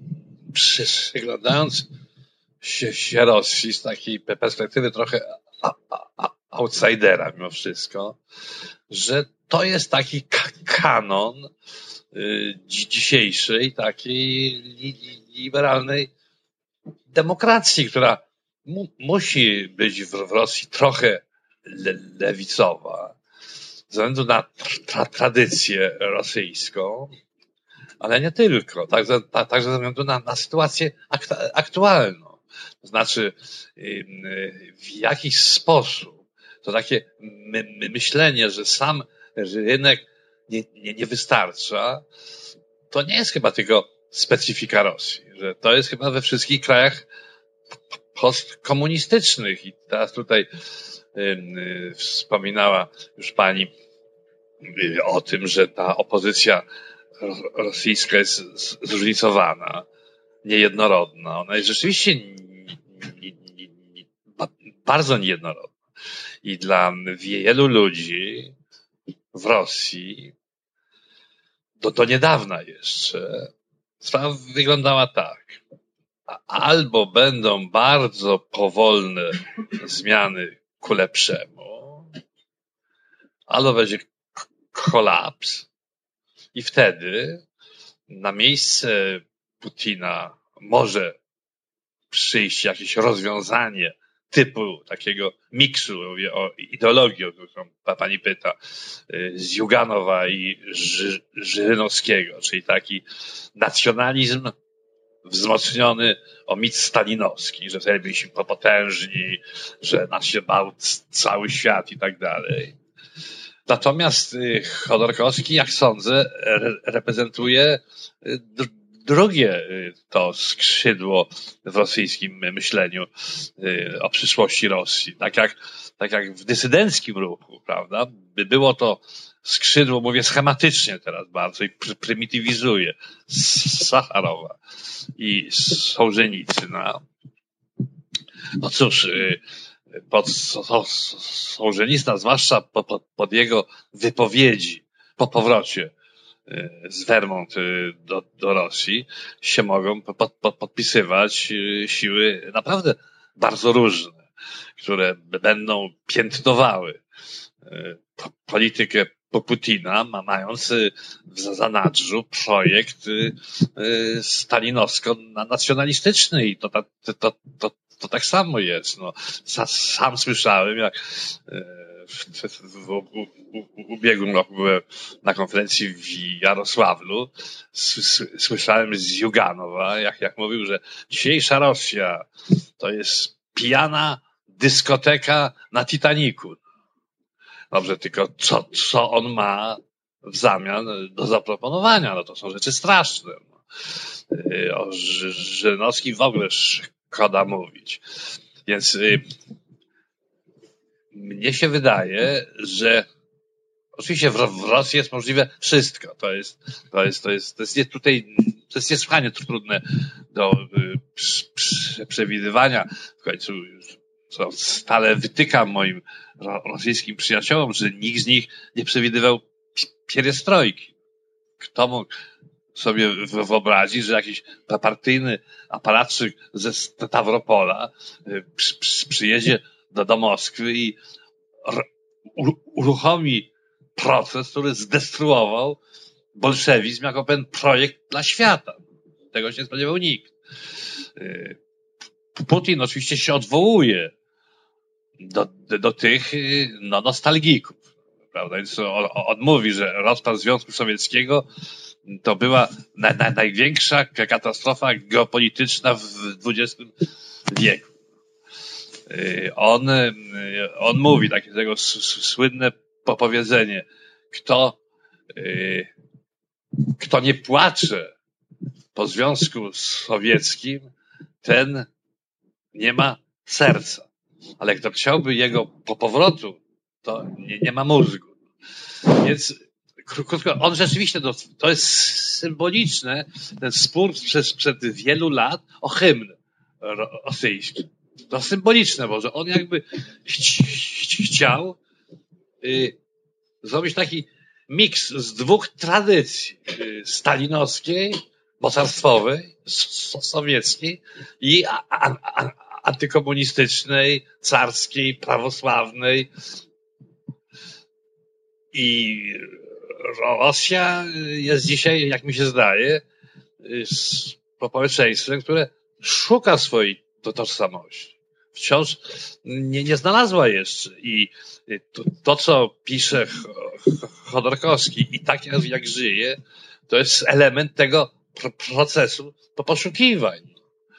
przyglądając się, się Rosji z takiej perspektywy trochę a, a, a, outsidera mimo wszystko, że to jest taki kanon y, dzisiejszej takiej li, liberalnej demokracji, która mu, musi być w, w Rosji trochę le, lewicowa ze względu na tra, tradycję rosyjską, ale nie tylko, także, także ze względu na, na sytuację aktualną. To znaczy w jakiś sposób to takie my, my myślenie, że sam rynek nie, nie, nie wystarcza, to nie jest chyba tylko specyfika Rosji, że to jest chyba we wszystkich krajach postkomunistycznych. I teraz tutaj y, y, wspominała już pani y, o tym, że ta opozycja rosyjska jest zróżnicowana, niejednorodna. Ona jest rzeczywiście nie, nie, nie, bardzo niejednorodna. I dla wielu ludzi w Rosji do, do niedawna jeszcze sprawa wyglądała tak. Albo będą bardzo powolne zmiany ku lepszemu, albo będzie kolaps i wtedy na miejsce Putina może przyjść jakieś rozwiązanie typu takiego miksu, mówię o ideologii, o którą pani pyta, z Ziuganowa i Ży- Żyrynowskiego, czyli taki nacjonalizm wzmocniony o mit stalinowski, że wtedy byliśmy potężni, że nas się bał cały świat i tak dalej. Natomiast Chodorkowski, jak sądzę, re- reprezentuje drugie to skrzydło w rosyjskim myśleniu o przyszłości Rosji. Tak jak, tak jak w dysydenckim ruchu, prawda? By było to skrzydło, mówię schematycznie teraz bardzo i pr- prymitywizuję, Sacharowa i Sołżenicyna. No cóż, pod Sołżenicna, zwłaszcza pod, pod jego wypowiedzi po powrocie z Wehrmacht do, do Rosji, się mogą pod, pod, podpisywać siły naprawdę bardzo różne, które będą piętnowały politykę Putina, mając w zanadrzu projekt stalinowsko-nacjonalistyczny i to, to, to, to, to tak samo jest. No, sam słyszałem, jak w, w, w ubiegłym roku byłem na konferencji w Jarosławlu, słyszałem z Ziuganowa, jak, jak mówił, że dzisiejsza Rosja to jest pijana dyskoteka na Titaniku. Dobrze, tylko co, co on ma w zamian do zaproponowania? No to są rzeczy straszne. No. O Żyrynowskim w ogóle szkoda mówić. Więc y, mnie się wydaje, że oczywiście w, w Rosji jest możliwe wszystko. To jest, to jest, to jest, to jest nie, tutaj, to jest niesłychanie trudne do y, przy, przewidywania. W końcu co stale wytykam moim rosyjskim przyjaciołom, że nikt z nich nie przewidywał pierestrojki. Kto mógł sobie wyobrazić, że jakiś partyjny aparatczyk ze Stawropola przyjedzie do, do Moskwy i uruchomi proces, który zdestruował bolszewizm jako pewien projekt dla świata. Tego się nie spodziewał nikt. Putin oczywiście się odwołuje do, do, do tych no, nostalgików, prawda? Więc on, on mówi, że rozpad Związku Sowieckiego to była na, na, największa katastrofa geopolityczna w dwudziestym wieku. On, on mówi takie tego słynne powiedzenie, kto, kto nie płacze po Związku Sowieckim, ten nie ma serca. Ale kto chciałby jego po powrotu, to nie, nie ma mózgu. Więc krótko, on rzeczywiście, no, to jest symboliczne, ten spór przez, przed wielu lat o hymn rosyjski. To symboliczne, bo że on jakby ch- ch- chciał y, zrobić taki miks z dwóch tradycji. Y, stalinowskiej, mocarstwowej, so- sowieckiej i a, a, a, antykomunistycznej, carskiej, prawosławnej. I Rosja jest dzisiaj, jak mi się zdaje, społeczeństwem, które szuka swojej tożsamości. Wciąż nie, nie znalazła jeszcze. I to, to co pisze Chodorkowski i tak jak, jak żyje, to jest element tego procesu poszukiwań.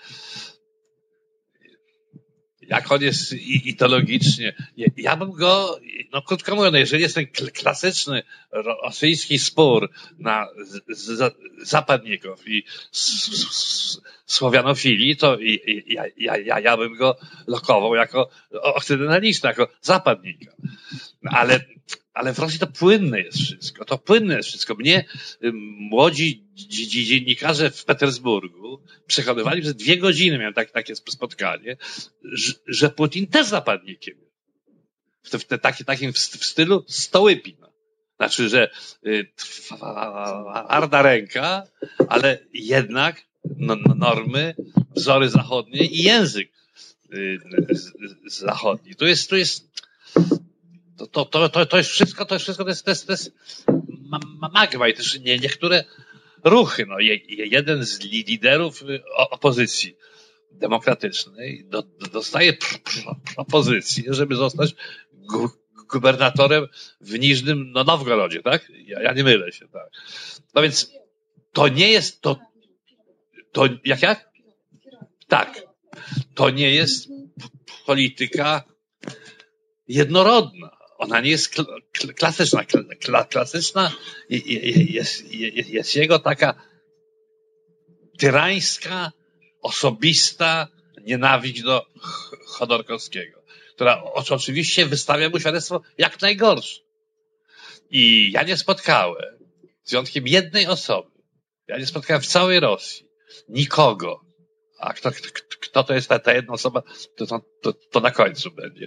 Jak on jest ideologicznie. Ja bym go, no krótko mówiąc, jeżeli jest ten klasyczny rosyjski spór na zapadników i słowianofilii, to ja, ja, ja, ja bym go lokował jako okcydentalista, jako zapadnika. Ale, ale w Rosji to płynne jest wszystko. To płynne jest wszystko. Mnie młodzi dziennikarze w Petersburgu przekonywali przez dwie godziny, miałem tak, takie spotkanie, że, że Putin też zapadnikiem. W, w, w taki, takim w, w stylu Stołypina. Znaczy, że y, twarda ręka, ale jednak no, normy, wzory zachodnie i język y, z, z zachodni. To jest, to jest To, to, to, to, to jest wszystko, to jest wszystko, to jest, to jest, to jest magma i też nie, niektóre ruchy. No, je, jeden z liderów opozycji demokratycznej do, dostaje pr, pr, propozycję, żeby zostać gu, gubernatorem w Niżnym no, Nowgorodzie, tak? Ja, ja nie mylę się, tak. No więc to nie jest to, to jak jak? Tak. To nie jest polityka jednorodna. Ona nie jest klasyczna. Klasyczna jest, jest, jest jego taka tyrańska, osobista nienawiść do Chodorkowskiego, która oczywiście wystawia mu świadectwo jak najgorsze. I ja nie spotkałem, z wyjątkiem jednej osoby, ja nie spotkałem w całej Rosji nikogo, a kto, kto, kto to jest ta, ta jedna osoba, to, to, to na końcu będzie.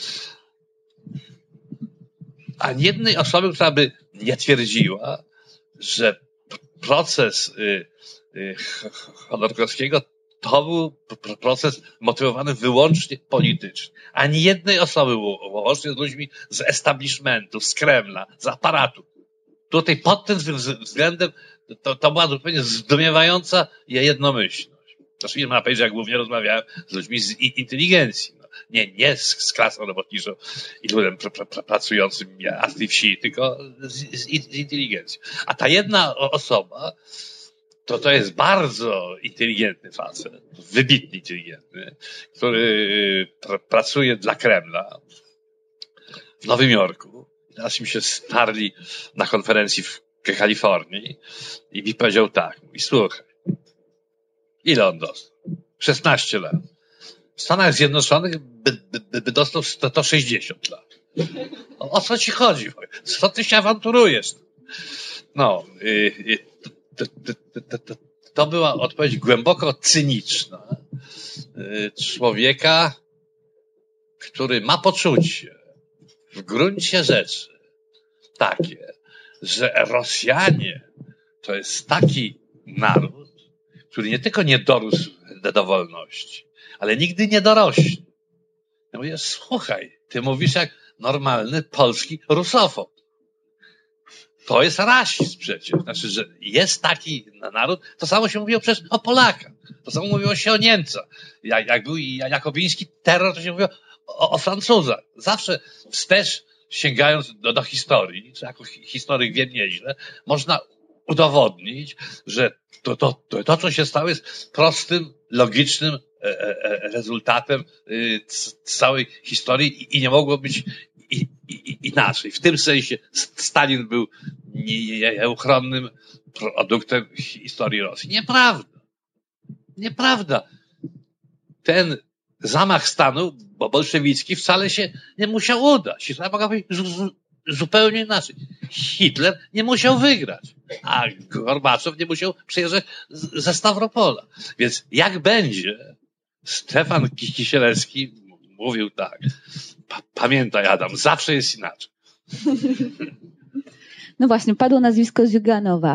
Ani jednej osoby, która by nie twierdziła, że proces y, y, Chodorkowskiego to był proces motywowany wyłącznie politycznie. Ani jednej osoby, łącznie z ludźmi z establishmentu, z Kremla, z aparatu. Tutaj pod tym względem to, to była zupełnie zdumiewająca jednomyślność. Zresztą nie ma powiedzieć, że ja głównie rozmawiałem z ludźmi z inteligencji. No, nie, nie z, z klasą robotniczą i ludem pr, pr, pr, pracującym a z tej wsi, tylko z, z, z inteligencji. A ta jedna osoba to, to jest bardzo inteligentny facet, wybitnie inteligentny, który pr, pracuje dla Kremla w Nowym Jorku. Teraz mi się starli na konferencji w Kalifornii i mi powiedział tak, i słuchaj, ile on dostał? szesnaście lat. W Stanach Zjednoczonych by, by, by dostał sto sześćdziesiąt lat. O, o co ci chodzi? Co ty się awanturujesz? No, y, y, to, to, to, to, to była odpowiedź głęboko cyniczna y, człowieka, który ma poczucie w gruncie rzeczy takie, że Rosjanie to jest taki naród, który nie tylko nie dorósł do wolności, ale nigdy nie dorośnie. Ja mówię, słuchaj, ty mówisz jak normalny polski rusofob. To jest rasizm przecież. Znaczy, że jest taki naród, to samo się mówiło przecież o Polakach. To samo mówiło się o Niemcach. Jak, jak był jakobiński terror, to się mówiło o, o Francuzach. Zawsze wstecz, sięgając do, do historii, czy jako historyk wiem nieźle, można udowodnić, że to, to, to, to co się stało, jest prostym, logicznym e, e, rezultatem e, całej historii i, i nie mogło być i, i, inaczej. W tym sensie Stalin był nieuchronnym produktem historii Rosji. Nieprawda. Nieprawda. Ten zamach stanu, bo bolszewicki, wcale się nie musiał udać. Historia mogła być zupełnie inaczej. Hitler nie musiał wygrać, a Gorbaczow nie musiał przyjeżdżać ze Stawropola. Więc jak będzie, Stefan Kisielewski mówił tak, pamiętaj Adam, zawsze jest inaczej. No właśnie, padło nazwisko Ziuganowa,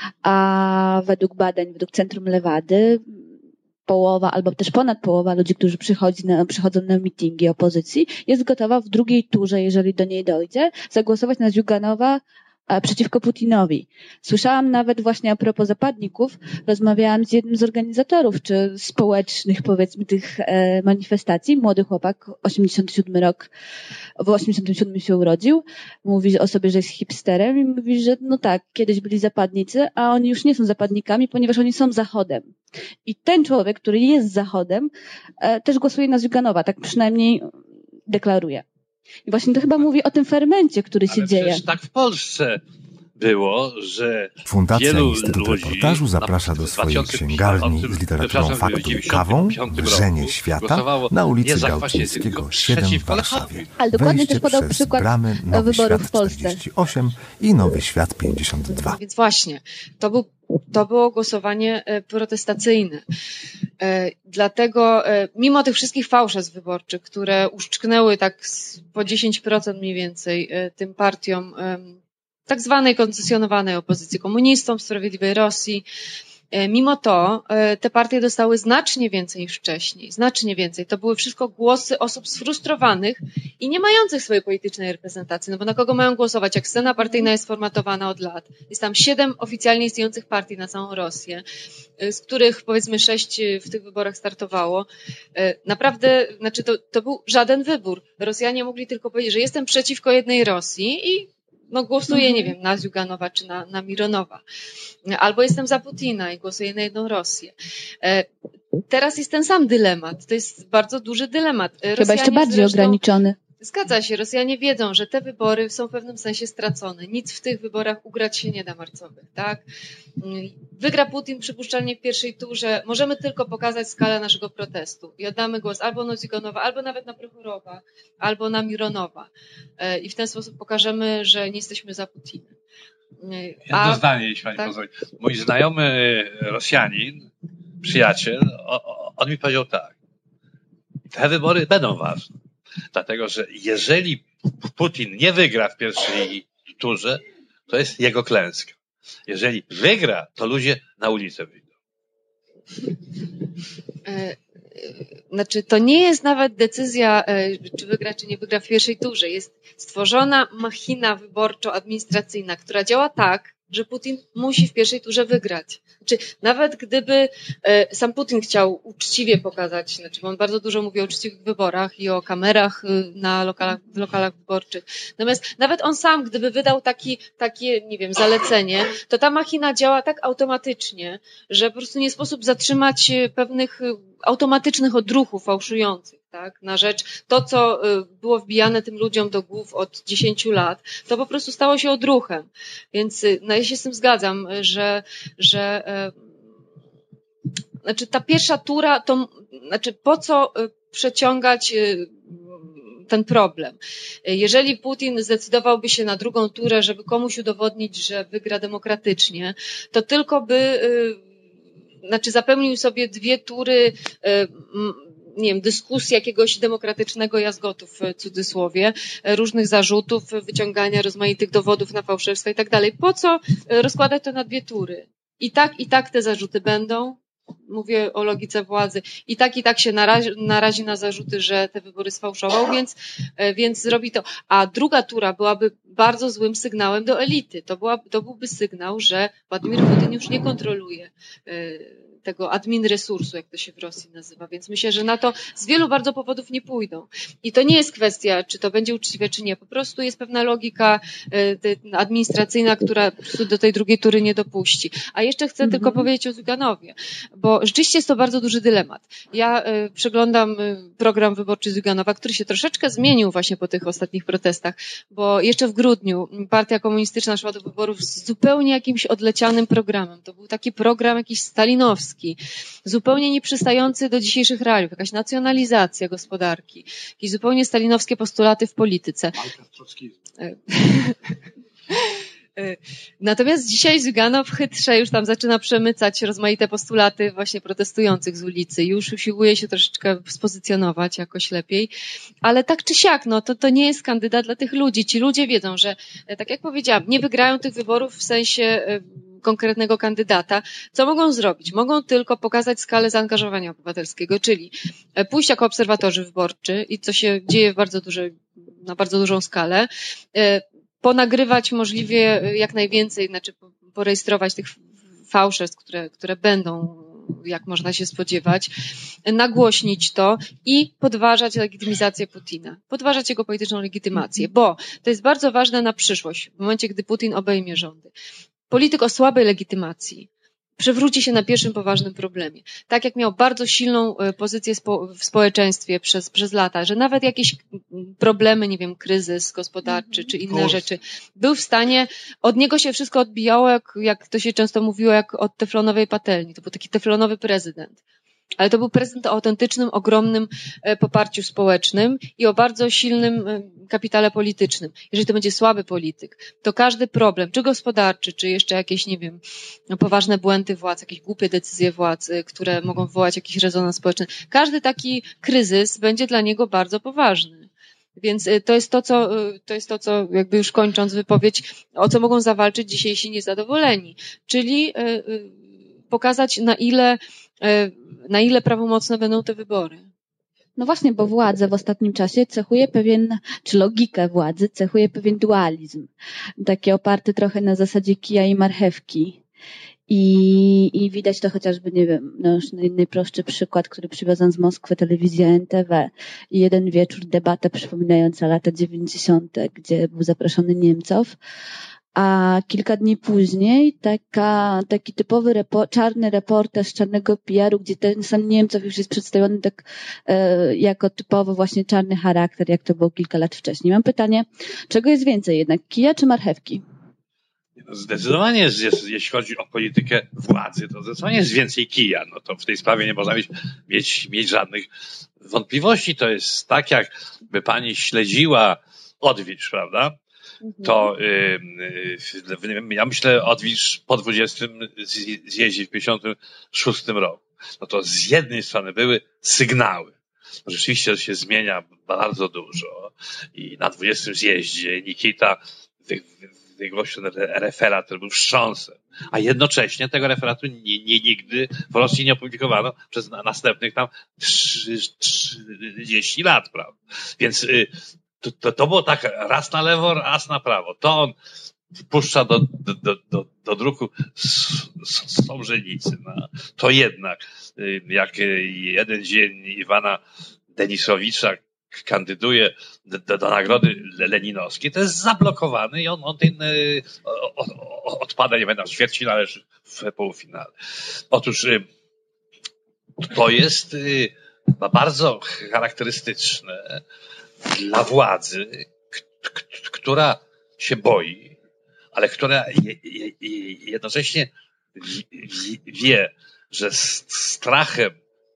a według badań, według Centrum Lewady, połowa albo też ponad połowa ludzi, którzy przychodzi na, przychodzą na mityngi opozycji, jest gotowa w drugiej turze, jeżeli do niej dojdzie, zagłosować na Ziuganowa przeciwko Putinowi. Słyszałam nawet właśnie a propos zapadników, rozmawiałam z jednym z organizatorów, czy społecznych, powiedzmy, tych e, manifestacji. Młody chłopak, osiemdziesiąty siódmy rok, w osiemdziesiątym siódmym się urodził. Mówi o sobie, że jest hipsterem i mówi, że no tak, kiedyś byli zapadnicy, a oni już nie są zapadnikami, ponieważ oni są Zachodem. I ten człowiek, który jest Zachodem, e, też głosuje na Ziuganowa, tak przynajmniej deklaruje. I właśnie to chyba mówi o tym fermencie, który się Ale dzieje. Tak w Polsce było, że Fundacja wielu Instytut ludzi, Reportażu zaprasza do swojej księgarni z literaturą faktów i kawą Wrzenie Świata na ulicy Gałczyńskiego siedem w Warszawie. Ale dokładnie Wejście też podał przez przykład bramy Nowy wyborów Świat w Polsce. czterdzieści osiem i Nowy Świat pięćdziesiąt dwa. Więc właśnie, to, był, to było głosowanie protestacyjne. Dlatego, mimo tych wszystkich fałszerstw wyborczych, które uszczknęły tak po dziesięć procent mniej więcej tym partiom tak zwanej koncesjonowanej opozycji, komunistom, Sprawiedliwej Rosji, mimo to te partie dostały znacznie więcej niż wcześniej, znacznie więcej. To były wszystko głosy osób sfrustrowanych i nie mających swojej politycznej reprezentacji. No bo na kogo mają głosować, jak scena partyjna jest formatowana od lat? Jest tam siedem oficjalnie istniejących partii na całą Rosję, z których powiedzmy sześć w tych wyborach startowało. Naprawdę, znaczy to, to był żaden wybór. Rosjanie mogli tylko powiedzieć, że jestem przeciwko jednej Rosji i no głosuję, nie wiem, na Ziuganowa czy na, na Mironowa. Albo jestem za Putina i głosuję na jedną Rosję. Teraz jest ten sam dylemat. To jest bardzo duży dylemat. Rosjanie Chyba jeszcze bardziej zresztą, ograniczony. Zgadza się. Rosjanie wiedzą, że te wybory są w pewnym sensie stracone. Nic w tych wyborach ugrać się nie da marcowych, tak? Wygra Putin przypuszczalnie w pierwszej turze. Możemy tylko pokazać skalę naszego protestu i oddamy głos albo na Ziganowa, albo nawet na Prochorowa, albo na Mironowa. I w ten sposób pokażemy, że nie jesteśmy za Putinem. Jedno A, zdanie, jeśli pani tak? pozwoli. Mój znajomy Rosjanin, przyjaciel, on mi powiedział tak. Te wybory będą ważne. Dlatego, że jeżeli Putin nie wygra w pierwszej turze, to jest jego klęska. Jeżeli wygra, to ludzie na ulicę wyjdą. Znaczy, to nie jest nawet decyzja, czy wygra, czy nie wygra w pierwszej turze. Jest stworzona machina wyborczo-administracyjna, która działa tak, że Putin musi w pierwszej turze wygrać. Znaczy, nawet gdyby sam Putin chciał uczciwie pokazać, znaczy, bo on bardzo dużo mówi o uczciwych wyborach i o kamerach na lokalach, w lokalach wyborczych. Natomiast nawet on sam, gdyby wydał taki, takie, nie wiem, zalecenie, to ta machina działa tak automatycznie, że po prostu nie sposób zatrzymać pewnych automatycznych odruchów fałszujących, tak, na rzecz to, co było wbijane tym ludziom do głów od dziesięciu lat, to po prostu stało się odruchem. Więc no, ja się z tym zgadzam, że, że znaczy ta pierwsza tura, to znaczy po co przeciągać ten problem. Jeżeli Putin zdecydowałby się na drugą turę, żeby komuś udowodnić, że wygra demokratycznie, to tylko by znaczy zapełnił sobie dwie tury, nie wiem, dyskusji jakiegoś demokratycznego jazgotu w cudzysłowie, różnych zarzutów, wyciągania rozmaitych dowodów na fałszerstwa i tak dalej. Po co rozkładać to na dwie tury? I tak, i tak te zarzuty będą. Mówię o logice władzy. I tak, i tak się narazi, narazi na zarzuty, że te wybory sfałszował, więc, więc zrobi to. A druga tura byłaby bardzo złym sygnałem do elity. To, była, to byłby sygnał, że Władimir Putin już nie kontroluje tego admin resursu, jak to się w Rosji nazywa. Więc myślę, że na to z wielu bardzo powodów nie pójdą. I to nie jest kwestia, czy to będzie uczciwe, czy nie. Po prostu jest pewna logika administracyjna, która po prostu do tej drugiej tury nie dopuści. A jeszcze chcę mm-hmm. tylko powiedzieć o Zyganowie, bo rzeczywiście jest to bardzo duży dylemat. Ja y, przeglądam y, program wyborczy Zyganowa, który się troszeczkę zmienił właśnie po tych ostatnich protestach, bo jeszcze w grudniu Partia Komunistyczna szła do wyborów z zupełnie jakimś odlecianym programem. To był taki program jakiś stalinowski. putinowski, zupełnie nieprzystający do dzisiejszych realiów, jakaś nacjonalizacja gospodarki, jakieś zupełnie stalinowskie postulaty w polityce. Natomiast dzisiaj Zyganow chytrze już tam zaczyna przemycać rozmaite postulaty właśnie protestujących z ulicy. Już usiłuje się troszeczkę spozycjonować jakoś lepiej. Ale tak czy siak, no to, to nie jest kandydat dla tych ludzi. Ci ludzie wiedzą, że tak jak powiedziałam, nie wygrają tych wyborów w sensie konkretnego kandydata. Co mogą zrobić? Mogą tylko pokazać skalę zaangażowania obywatelskiego, czyli pójść jako obserwatorzy wyborczy i co się dzieje w bardzo dużej, na bardzo dużą skalę, ponagrywać możliwie jak najwięcej, znaczy porejestrować tych fałszerstw, które, które będą, jak można się spodziewać, nagłośnić to i podważać legitymizację Putina, podważać jego polityczną legitymację, bo to jest bardzo ważne na przyszłość, w momencie, gdy Putin obejmie rządy. Polityk o słabej legitymacji przewróci się na pierwszym poważnym problemie. Tak jak miał bardzo silną pozycję w społeczeństwie przez, przez lata, że nawet jakieś problemy, nie wiem, kryzys gospodarczy czy inne rzeczy, był w stanie, od niego się wszystko odbijało, jak, jak to się często mówiło, jak od teflonowej patelni. To był taki teflonowy prezydent. Ale to był prezydent o autentycznym, ogromnym poparciu społecznym i o bardzo silnym kapitale politycznym. Jeżeli to będzie słaby polityk, to każdy problem, czy gospodarczy, czy jeszcze jakieś, nie wiem, poważne błędy władz, jakieś głupie decyzje władz, które mogą wywołać jakiś rezonans społeczny, każdy taki kryzys będzie dla niego bardzo poważny. Więc to jest to, co, to jest to, co jakby już kończąc wypowiedź, o co mogą zawalczyć dzisiejsi niezadowoleni. Czyli pokazać, na ile na ile prawomocne będą te wybory. No właśnie, bo władzę w ostatnim czasie cechuje pewien, czy logikę władzy cechuje pewien dualizm. Taki oparty trochę na zasadzie kija i marchewki. I, i widać to chociażby, nie wiem, no już najprostszy przykład, który przywiozłam z Moskwy, telewizja N T V i jeden wieczór debatę przypominająca lata dziewięćdziesiąte, gdzie był zaproszony Niemcow. A kilka dni później taka, taki typowy repo, czarny reportaż czarnego P R u, gdzie ten sam Niemcow już jest przedstawiony tak e, jako typowo właśnie czarny charakter, jak to było kilka lat wcześniej. Mam pytanie, czego jest więcej jednak, kija czy marchewki? Zdecydowanie, jest, jest, jeśli chodzi o politykę władzy, to zdecydowanie jest więcej kija. No to w tej sprawie nie można mieć, mieć, mieć żadnych wątpliwości. To jest tak, jakby pani śledziła odwiedź, prawda? To y, y, ja myślę odwilż po dwudziestym zjeździe w pięćdziesiątym szóstym roku. No to z jednej strony były sygnały. No rzeczywiście się zmienia bardzo dużo i na dwudziestym zjeździe Nikita wy, wy, wygłosił referat, który był wstrząsem, a jednocześnie tego referatu nie, nie, nigdy w Rosji nie opublikowano przez następnych tam trzydzieści lat, prawda? Więc y, To, to, to było tak raz na lewo, raz na prawo. To on wpuszcza do, do, do, do druku Sołżenicy. No. To jednak, jak jeden dzień Iwana Denisowicza kandyduje do, do, do nagrody leninowskiej, to jest zablokowany i on, on ten, odpada, nie będę w ćwierćfinale, w półfinale. Otóż to jest bardzo charakterystyczne dla władzy, k- k- która się boi, ale która je, je, jednocześnie wie, że strachem,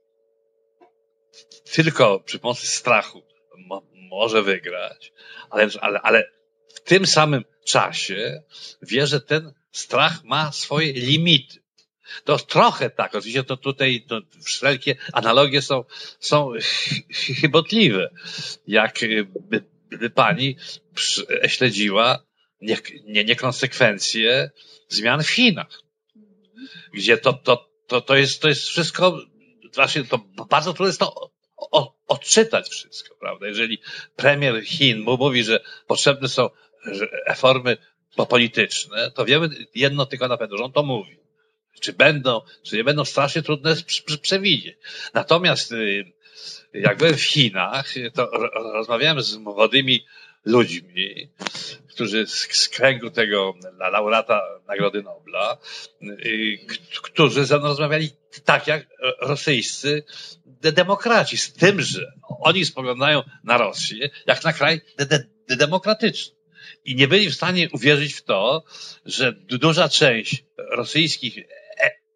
tylko przy pomocy strachu mo, może wygrać, ale, ale, ale w tym samym czasie wie, że ten strach ma swoje limity. To trochę tak, oczywiście to tutaj to wszelkie analogie są, są chybotliwe. Jak by, by pani śledziła nie, nie, niekonsekwencje zmian w Chinach, gdzie to, to, to, to, jest, to jest wszystko, właśnie to bardzo trudno jest to o, odczytać wszystko, prawda? Jeżeli premier Chin mówi, że potrzebne są reformy polityczne, to wiemy jedno tylko na pewno, że on to mówi. Czy będą, czy nie będą, strasznie trudne przewidzieć. Natomiast jak byłem w Chinach, to rozmawiałem z młodymi ludźmi, którzy z kręgu tego laureata Nagrody Nobla, którzy ze mną rozmawiali tak jak rosyjscy demokraci, z tym, że oni spoglądają na Rosję jak na kraj de- de- demokratyczny. I nie byli w stanie uwierzyć w to, że duża część rosyjskich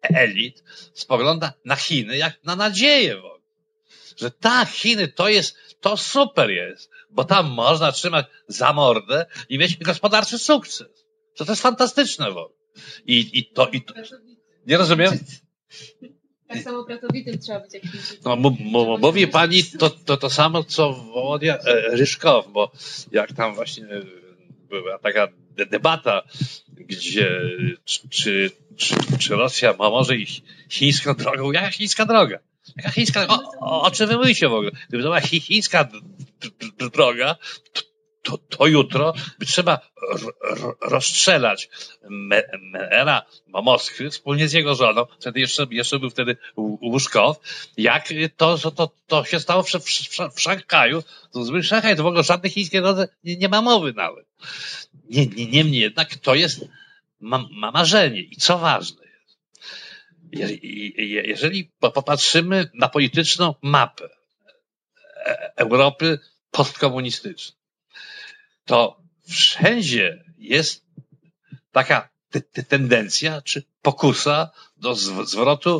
elit spogląda na Chiny jak na nadzieję w ogóle. Że tak, Chiny to jest, to super jest, bo tam można trzymać za mordę i mieć gospodarczy sukces. To, to jest fantastyczne w ogóle. I, i to, i to, nie rozumiem? Tak samo pracowitym trzeba być jak No, m- m- mówi pani to, to, to samo, co Wołodia e, Ryszkow, bo jak tam właśnie była taka de- debata, gdzie czy, czy, czy, czy Rosja ma może iść chińską drogą? Jaka chińska droga? Jaka chińska droga? O, o, o czym wy mówicie w ogóle? Gdyby to była chi- chińska d- d- d- droga, to, to, to jutro by trzeba r- r- rozstrzelać Me- Mera Moskwy wspólnie z jego żoną, wtedy jeszcze, jeszcze był wtedy Łuszkow, jak to, to, to, to się stało w, w, w Szanghaju. To zły Szanghaj, to w ogóle żadnej chińskiej drodze nie, nie ma mowy nawet. Nie, nie, niemniej jednak to jest ma, ma marzenie. I co ważne jest, je, je, jeżeli popatrzymy na polityczną mapę Europy postkomunistycznej, to wszędzie jest taka te, te tendencja czy pokusa do zwrotu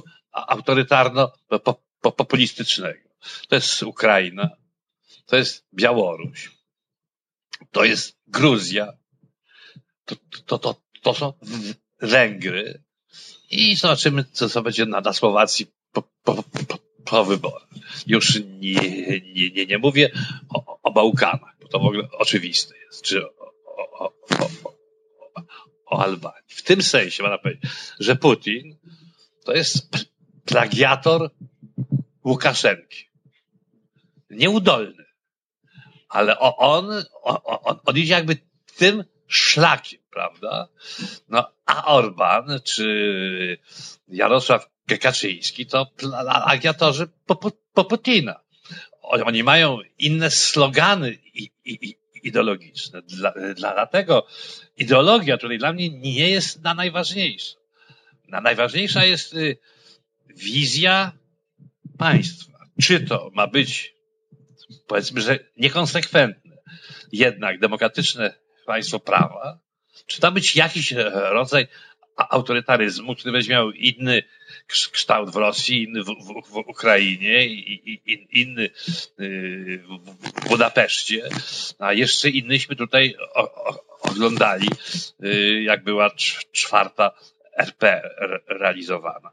autorytarno-populistycznego. To jest Ukraina, to jest Białoruś, to jest Gruzja, to, to, to, to są Węgry i zobaczymy, co, co będzie na, na Słowacji po, po, po, po wyborach. Już nie, nie, nie, nie mówię o, o Bałkanach, bo to w ogóle oczywiste jest, czy o, o, o, o, o Albanii. W tym sensie można powiedzieć, że Putin to jest plagiator Łukaszenki. Nieudolny. Ale on, on, on idzie jakby tym szlakiem, prawda? No, a Orban czy Jarosław Kaczyński to plagiatorzy po, po, po Putina. Oni mają inne slogany i, i, ideologiczne. Dla, dla, dlatego ideologia tutaj dla mnie nie jest na najważniejsza. Na najważniejsza jest y, wizja państwa. Czy to ma być, powiedzmy, że niekonsekwentne, jednak demokratyczne państwo prawa, czy to ma być jakiś rodzaj autorytaryzmu, który będzie miał inny kształt w Rosji, inny w, w, w Ukrainie, i, i, inny w Budapeszcie, a jeszcze innyśmy tutaj o, o, oglądali, jak była czwarta R P realizowana.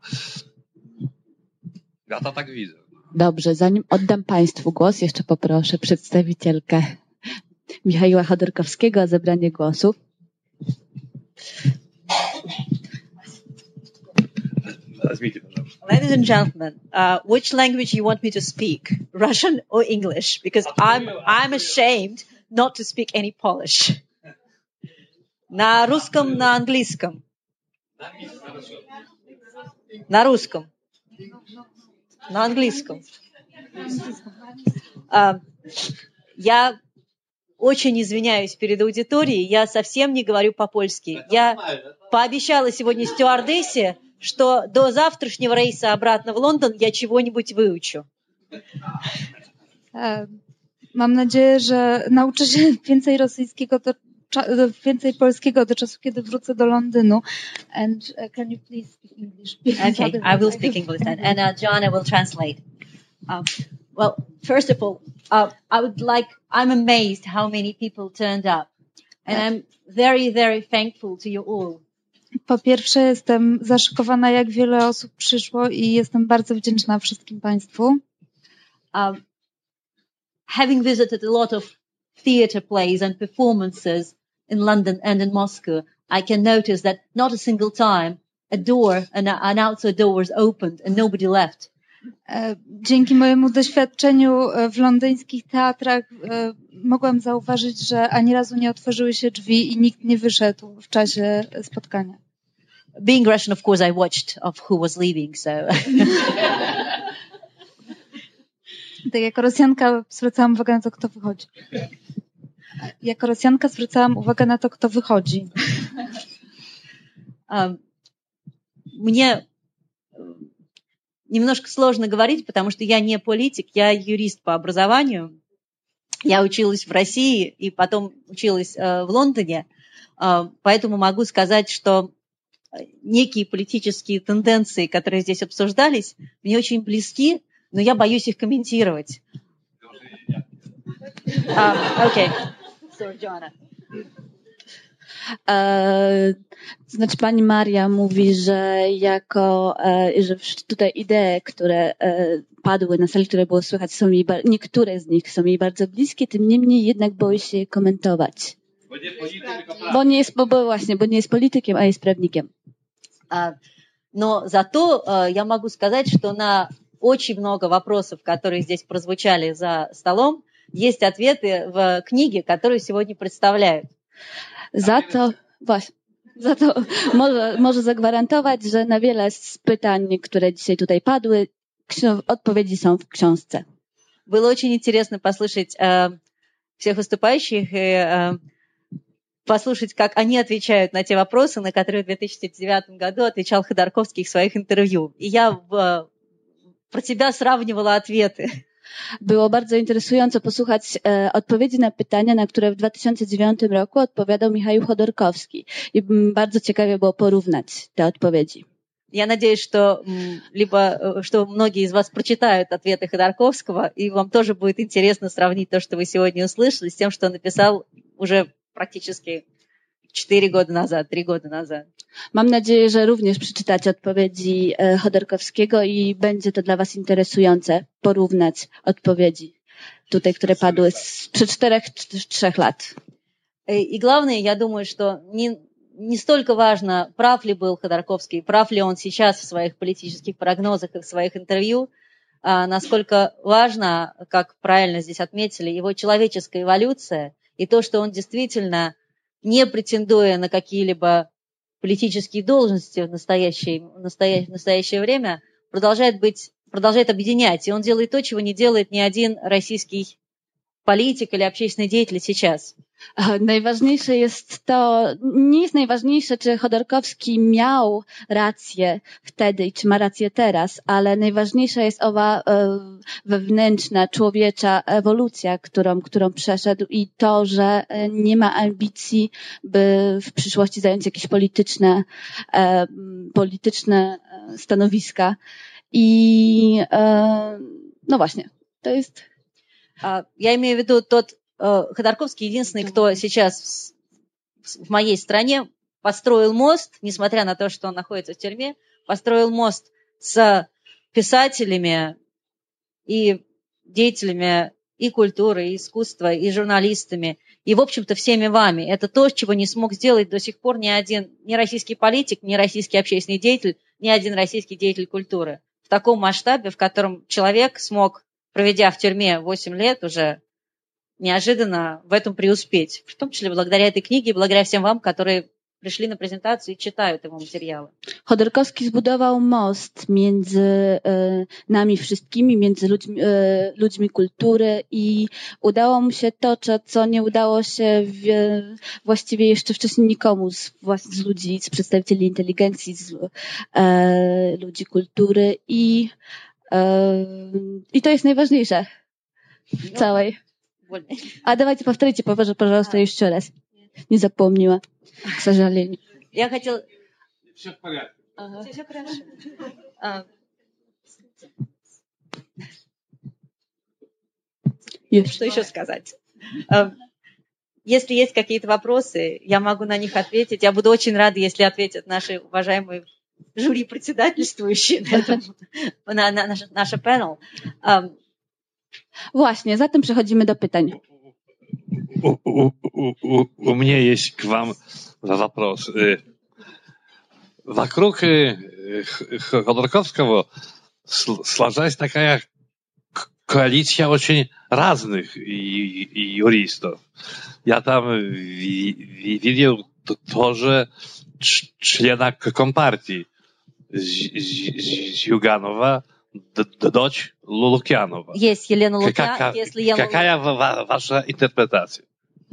Ja to tak widzę. Dobrze, zanim oddam Państwu głos, jeszcze poproszę przedstawicielkę Michaiła Chodorkowskiego o zabranie głosu. Ladies and gentlemen, uh, which language you want me to speak? Russian or English? Because I'm I'm ashamed not to speak any Polish. На русском, на английском. На русском. На английском. Uh, я очень извиняюсь перед аудиторией, я совсем не говорю по-польски. Я пообещала сегодня стюардессе, что до завтрашнего рейса обратно в Лондон я чего-нибудь выучу. Mam nadzieję, że nauczę się więcej rosyjskiego, do, więcej polskiego do czasu, kiedy wrócę do Londynu. And uh, can you please speak English? Okay, I will speak English then. And uh, Joanna will translate. Um, well, first of all, uh, I would like, I'm amazed how many people turned up. And I'm very, very thankful to you all. Po pierwsze, jestem zaszokowana, jak wiele osób przyszło i jestem bardzo wdzięczna wszystkim Państwu. Um, having visited a lot of theatre plays and performances in London and in Moscow, I can notice that not a single time a door, an, an outside door was opened and nobody left. Dzięki mojemu doświadczeniu w londyńskich teatrach mogłam zauważyć, że ani razu nie otworzyły się drzwi i nikt nie wyszedł w czasie spotkania. Being Russian, of course, I watched of who was leaving, so. Tak, jako Rosjanka zwracałam uwagę na to, kto wychodzi. Jako Rosjanka zwracałam uwagę na to, kto wychodzi. Um, мне немножко сложно говорить, потому что я не политик, я юрист по образованию. Я училась в России и потом училась э, в Лондоне, э, поэтому могу сказать, что некие политические тенденции, которые здесь обсуждались, мне очень близки, но я боюсь их комментировать. Um, okay. Sorry, Joanna. E, znaczy pani Maria mówi, że jako, e, że tutaj idee, które e, padły na sali, które było słychać, są jej, niektóre z nich są jej bardzo bliskie, tym niemniej jednak boi się je komentować. Bo nie polityk, tylko prawnik. Bo nie jest, bo, bo właśnie, bo nie jest politykiem, a jest prawnikiem. А, но зато а, я могу сказать, что на очень много вопросов, которые здесь прозвучали за столом, есть ответы в книге, которую сегодня представляют. Za to, właśnie, za to może, może zagwarantować, że na wiele z pytań, które dzisiaj tutaj padły, odpowiedzi są w książce. Было очень интересно послушать э, всех выступающих и э, послушать, как они отвечают на те вопросы, на которые в две тысячи девятом году отвечал Ходорковский в своих интервью. И я в, про тебя сравнивала ответы. Było bardzo interesująco posłuchać e, odpowiedzi na pytania, na które w dwa tysiące dziewiątym roku odpowiadał Michał Chodorkowski. I bardzo ciekawie było porównać te odpowiedzi. Я надеюсь, что либо что многие из вас прочитают ответы Ходорковского, и вам тоже будет интересно сравнить то, что вы сегодня услышали, с тем, что он написал уже практически четыре года назад, три года назад. Mam nadzieję, że również przeczytacie odpowiedzi Chodorkowskiego i będzie to dla was interesujące porównać odpowiedzi tutaj, które padły sprzed czterech, trzech lat. И главное, я думаю, что не, не столько важно, прав ли был Ходорковский, прав ли он сейчас в своих политических прогнозах и в своих интервью, а насколько важно, как правильно здесь отметили, его человеческая эволюция и то, что он действительно, не претендуя на какие-либо политические должности в настоящее, в настоящее, в настоящее время, продолжает быть, продолжает объединять. И он делает то, чего не делает ни один российский polityk или общественный деятель сейчас. Najważniejsze jest to, nie jest najważniejsze, czy Chodorkowski miał rację wtedy i czy ma rację teraz, ale najważniejsza jest owa wewnętrzna, człowiecza ewolucja, którą, którą przeszedł i to, że nie ma ambicji, by w przyszłości zająć jakieś polityczne, polityczne stanowiska. I no właśnie, to jest... Я имею в виду тот Ходорковский, единственный, кто сейчас в моей стране построил мост, несмотря на то, что он находится в тюрьме, построил мост с писателями и деятелями и культуры, и искусства, и журналистами, и, в общем-то, всеми вами. Это то, чего не смог сделать до сих пор ни один, ни российский политик, ни российский общественный деятель, ни один российский деятель культуры. В таком масштабе, в котором человек смог, проведя в тюрьме восемь лет, уже неожиданно в этом преуспеть. В том числе благодаря этой книге и благодаря всем вам, которые пришли на презентацию и читают его материалы. Chodorkowski zbudował most między e, nami wszystkimi, między ludźmi, e, ludźmi kultury i udało mu się to, co nie udało się w, właściwie jeszcze wcześniej nikomu z, z ludzi, z przedstawicieli inteligencji, z e, ludzi kultury i I to jest najważniejsze w całej. A давайте повторите, пожалуйста, еще раз. Не запомнила, к сожалению. Я хотела... Все в порядке. Ага. Все хорошо. А... Что еще сказать? Если есть какие-то вопросы, я могу на них ответить. Я буду очень рада, если ответят наши уважаемые жюри председательствующие на, этом, на, на наш, наш panel. Um, Właśnie, zatem przechodzimy do pytań. У, у, у, у меня есть к вам вопрос. Вокруг Ходорковского сложилась такая коалиция очень разных юристов. Я там видел тоже члена Компартии Зюганова, дочь Лукьянова. Есть Елена Лукьянова. Какая ваша интерпретация?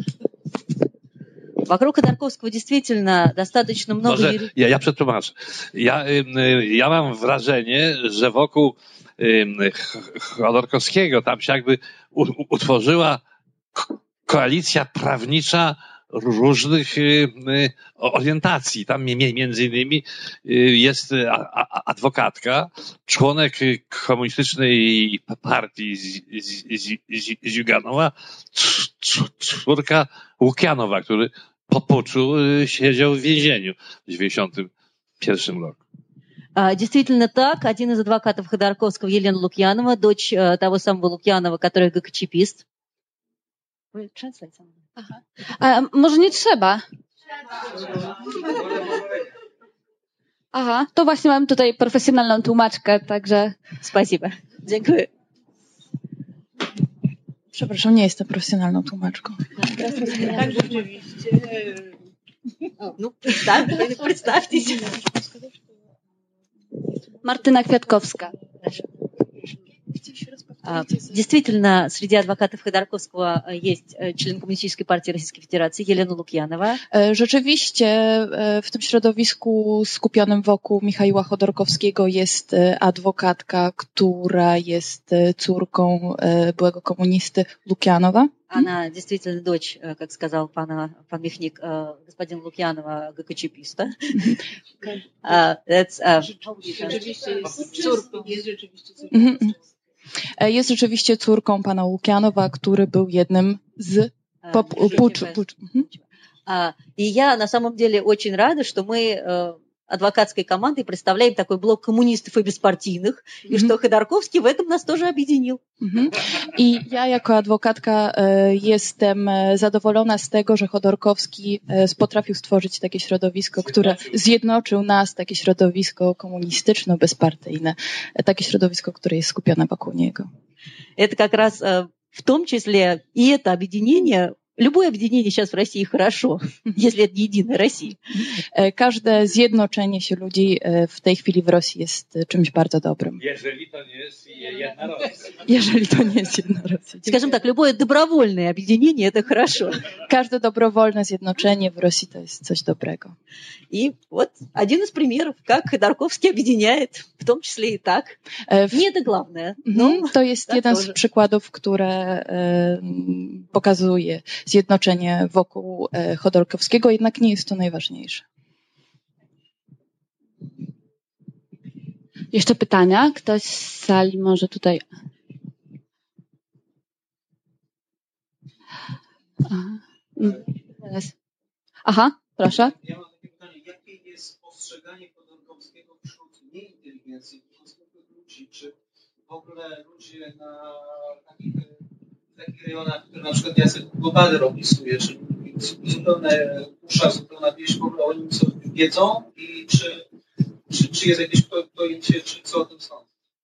Вокруг Ходорковского действительно достаточно много... Może, ja, ja przetłumaczę. Ja, ja mam wrażenie, że wokół Chodorkowskiego tam się jakby utworzyła koalicja prawnicza różnych orientacji. Tam między innymi jest adwokatka, członek komunistycznej partii Ziuganowa, córka Łukianowa, który po puczu siedział w więzieniu w dziewięćdziesiątym pierwszym roku. Действительно так. Один из адвокатов Ходорковского, Елена Лукьянова, дочь того самого Лукьянова, который ГКЧПист. Aha. A może nie trzeba? Aha, to właśnie mam tutaj profesjonalną tłumaczkę, także... Спасибо. Dziękuję. Przepraszam, nie jestem profesjonalną tłumaczką. Tak, rzeczywiście. No, przedstawcie się. Martyna Kwiatkowska. Действительно, среди адвокатов Ходорковского есть член Коммунистической партии Российской Федерации Елена Лукьянова. Rzeczywiście w tym środowisku skupionym wokół Michaiła Chodorkowskiego jest adwokatka, która jest córką byłego komunisty Лукьянова. Она действительно дочь, как сказал пан, пан Михник, господин Лукьянова, ГКЧПиста. Jest rzeczywiście córką pana Łukianowa, który był jednym z puczu. И я на самом деле очень рада, что мы адвокатской командой представляем такой блок коммунистов и беспартийных, и что Ходорковский в этом нас тоже объединил. I ja jako adwokatka jestem zadowolona z tego, że Chodorkowski potrafił stworzyć takie środowisko, które zjednoczył nas, takie środowisko komunistyczno-bezpartyjne, takie środowisko, które jest skupione wokół niego. Это как раз в том числе и это объединение. Любое объединение сейчас в России хорошо, если это не единая Россия. Każde zjednoczenie się ludzi w tej chwili w Rosji jest czymś bardzo dobrym. Jeżeli to nie jest jedna Rosja. Jeżeli to nie jest jedna Rosja. Скажем так, любое добровольное объединение это хорошо. Każde dobrowolne zjednoczenie w Rosji to jest coś dobrego. И вот один из примеров, как Ходорковский объединяет, в том числе и так. Не это главное. No, to jest jeden z przykładów, które pokazuje zjednoczenie wokół Chodorkowskiego, jednak nie jest to najważniejsze. Jeszcze pytania? Ktoś z sali może tutaj... Aha, Aha proszę. Ja mam takie pytanie, jakie jest postrzeganie Chodorkowskiego wśród nieinteligencji, wśród zwykłych ludzi? Czy w ogóle ludzie na takich, takich rejonach, które na przykład Jacek Gobader opisuje, czyli zupełne usza, zupełna wieś, w ogóle o nim co wiedzą i czy, czy, czy jest jakieś pojęcie, czy co o tym sądzą?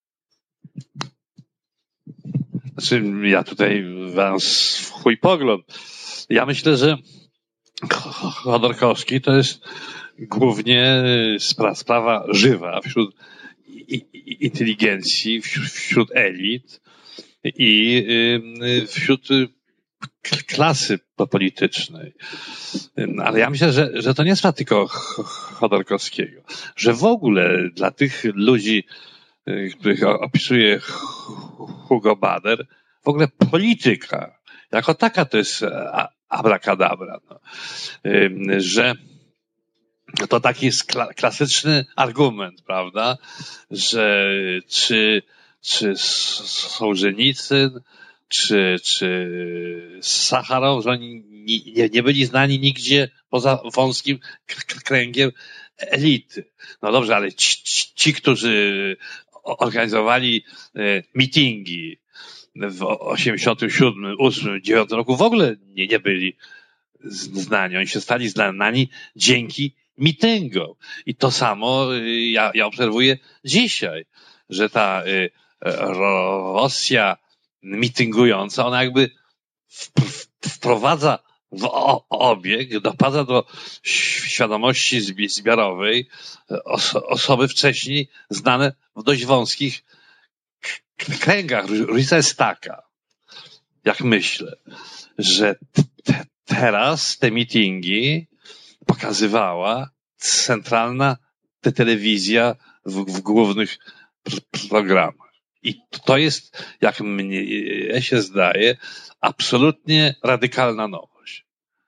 Znaczy, ja tutaj mam swój pogląd. Ja myślę, że Chodorkowski to jest głównie spra- sprawa żywa wśród inteligencji, wśród elit i wśród klasy politycznej. Ale ja myślę, że, że to nie jest sprawa tylko Chodorkowskiego, że w ogóle dla tych ludzi, których opisuje Hugo Bader, w ogóle polityka jako taka to jest abracadabra, no. Że to taki jest kla- klasyczny argument, prawda, że czy, czy Sołżenicyn, czy, czy Sacharow, że oni nie, nie byli znani nigdzie poza wąskim k- kręgiem elity. No dobrze, ale ci, ci którzy organizowali e, mitingi w osiemdziesiątym siódmym, ósmym, dziewiątym roku w ogóle nie, nie byli znani. Oni się stali znani dzięki mitęgom. I to samo ja, ja obserwuję dzisiaj, że ta y, Rosja mityngująca, ona jakby wprowadza w obieg, doprowadza do świadomości zbiorowej oso- osoby wcześniej znane w dość wąskich kręgach. Różnica jest taka, jak myślę, że te, teraz te mitingi pokazywała centralna te telewizja w, w głównych pr- programach. I to jest, jak mnie się zdaje, absolutnie radykalna nowość.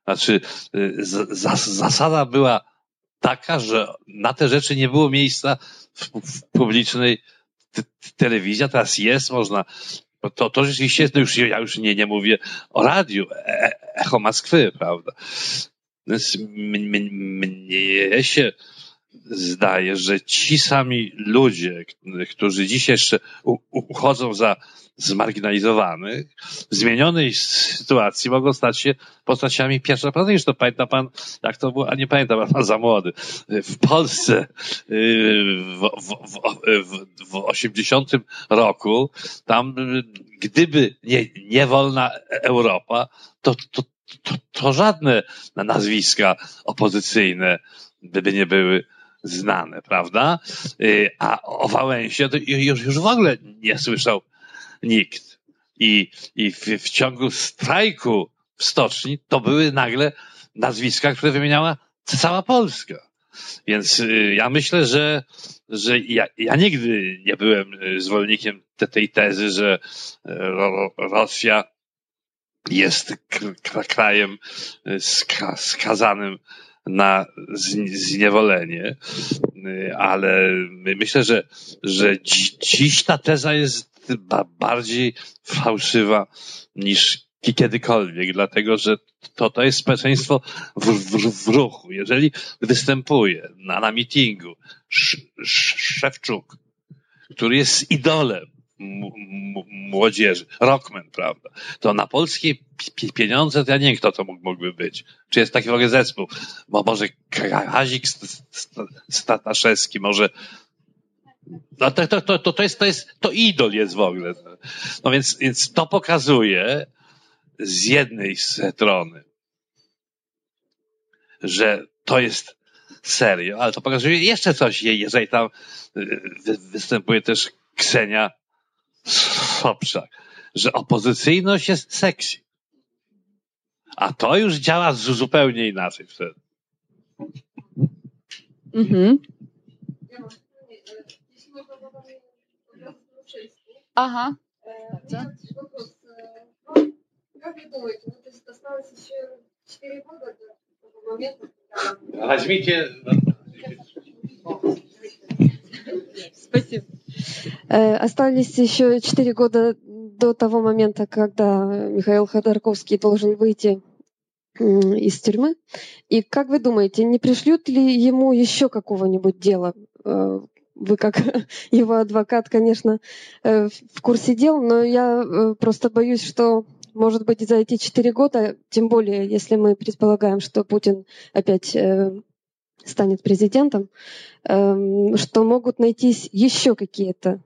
Znaczy, z, zasada była taka, że na te rzeczy nie było miejsca w, w publicznej te, telewizji, a teraz jest, można. To, to rzeczywiście, no już, ja już nie, nie mówię o radiu, e, Echo Moskwy, prawda? Więc mnie, mnie się zdaje, że ci sami ludzie, którzy dzisiaj jeszcze u, uchodzą za zmarginalizowanych, w zmienionej sytuacji mogą stać się postaciami pierwszoplanowymi. To pamięta pan, jak to było, a nie pamiętam, pan za młody. W Polsce w, w, w, w osiemdziesiątym roku, tam gdyby nie, nie wolna Europa, to, to, to, to żadne nazwiska opozycyjne by nie były znane, prawda? A o Wałęsie to już, już w ogóle nie słyszał nikt. I, i w, w ciągu strajku w stoczni to były nagle nazwiska, które wymieniała cała Polska. Więc ja myślę, że, że ja, ja nigdy nie byłem zwolennikiem te, tej tezy, że ro, Rosja jest krajem ska, skazanym na zniewolenie, ale myślę, że, że dziś ta teza jest bardziej fałszywa niż kiedykolwiek, dlatego że to, to jest społeczeństwo w, w, w ruchu. Jeżeli występuje na, na mitingu Sz, Szewczuk, który jest idolem młodzieży, rockman, prawda, to na polskie pieniądze to ja nie wiem, kto to mógłby być. Czy jest taki w ogóle zespół? Bo może Kazik Stataszewski, może no to, to, to, to jest, to jest, to idol jest w ogóle. No więc, więc to pokazuje z jednej strony, że to jest serio, ale to pokazuje jeszcze coś, jeżeli tam występuje też Ksenia Sobczak, że opozycyjność jest sexy. A to już działa zupełnie inaczej wtedy. Mhm. Ага. Как вы думаете, ну, то есть осталось еще четыре года до того момента, когда... Возьмите... Спасибо. Остались еще четыре года до того момента, когда Михаил Ходорковский должен выйти из тюрьмы. И как вы думаете, не пришлют ли ему еще какого-нибудь дела? Вы как его адвокат, конечно, в курсе дел, но я просто боюсь, что, может быть, за эти четыре года, тем более, если мы предполагаем, что Путин опять станет президентом, что могут найтись еще какие-то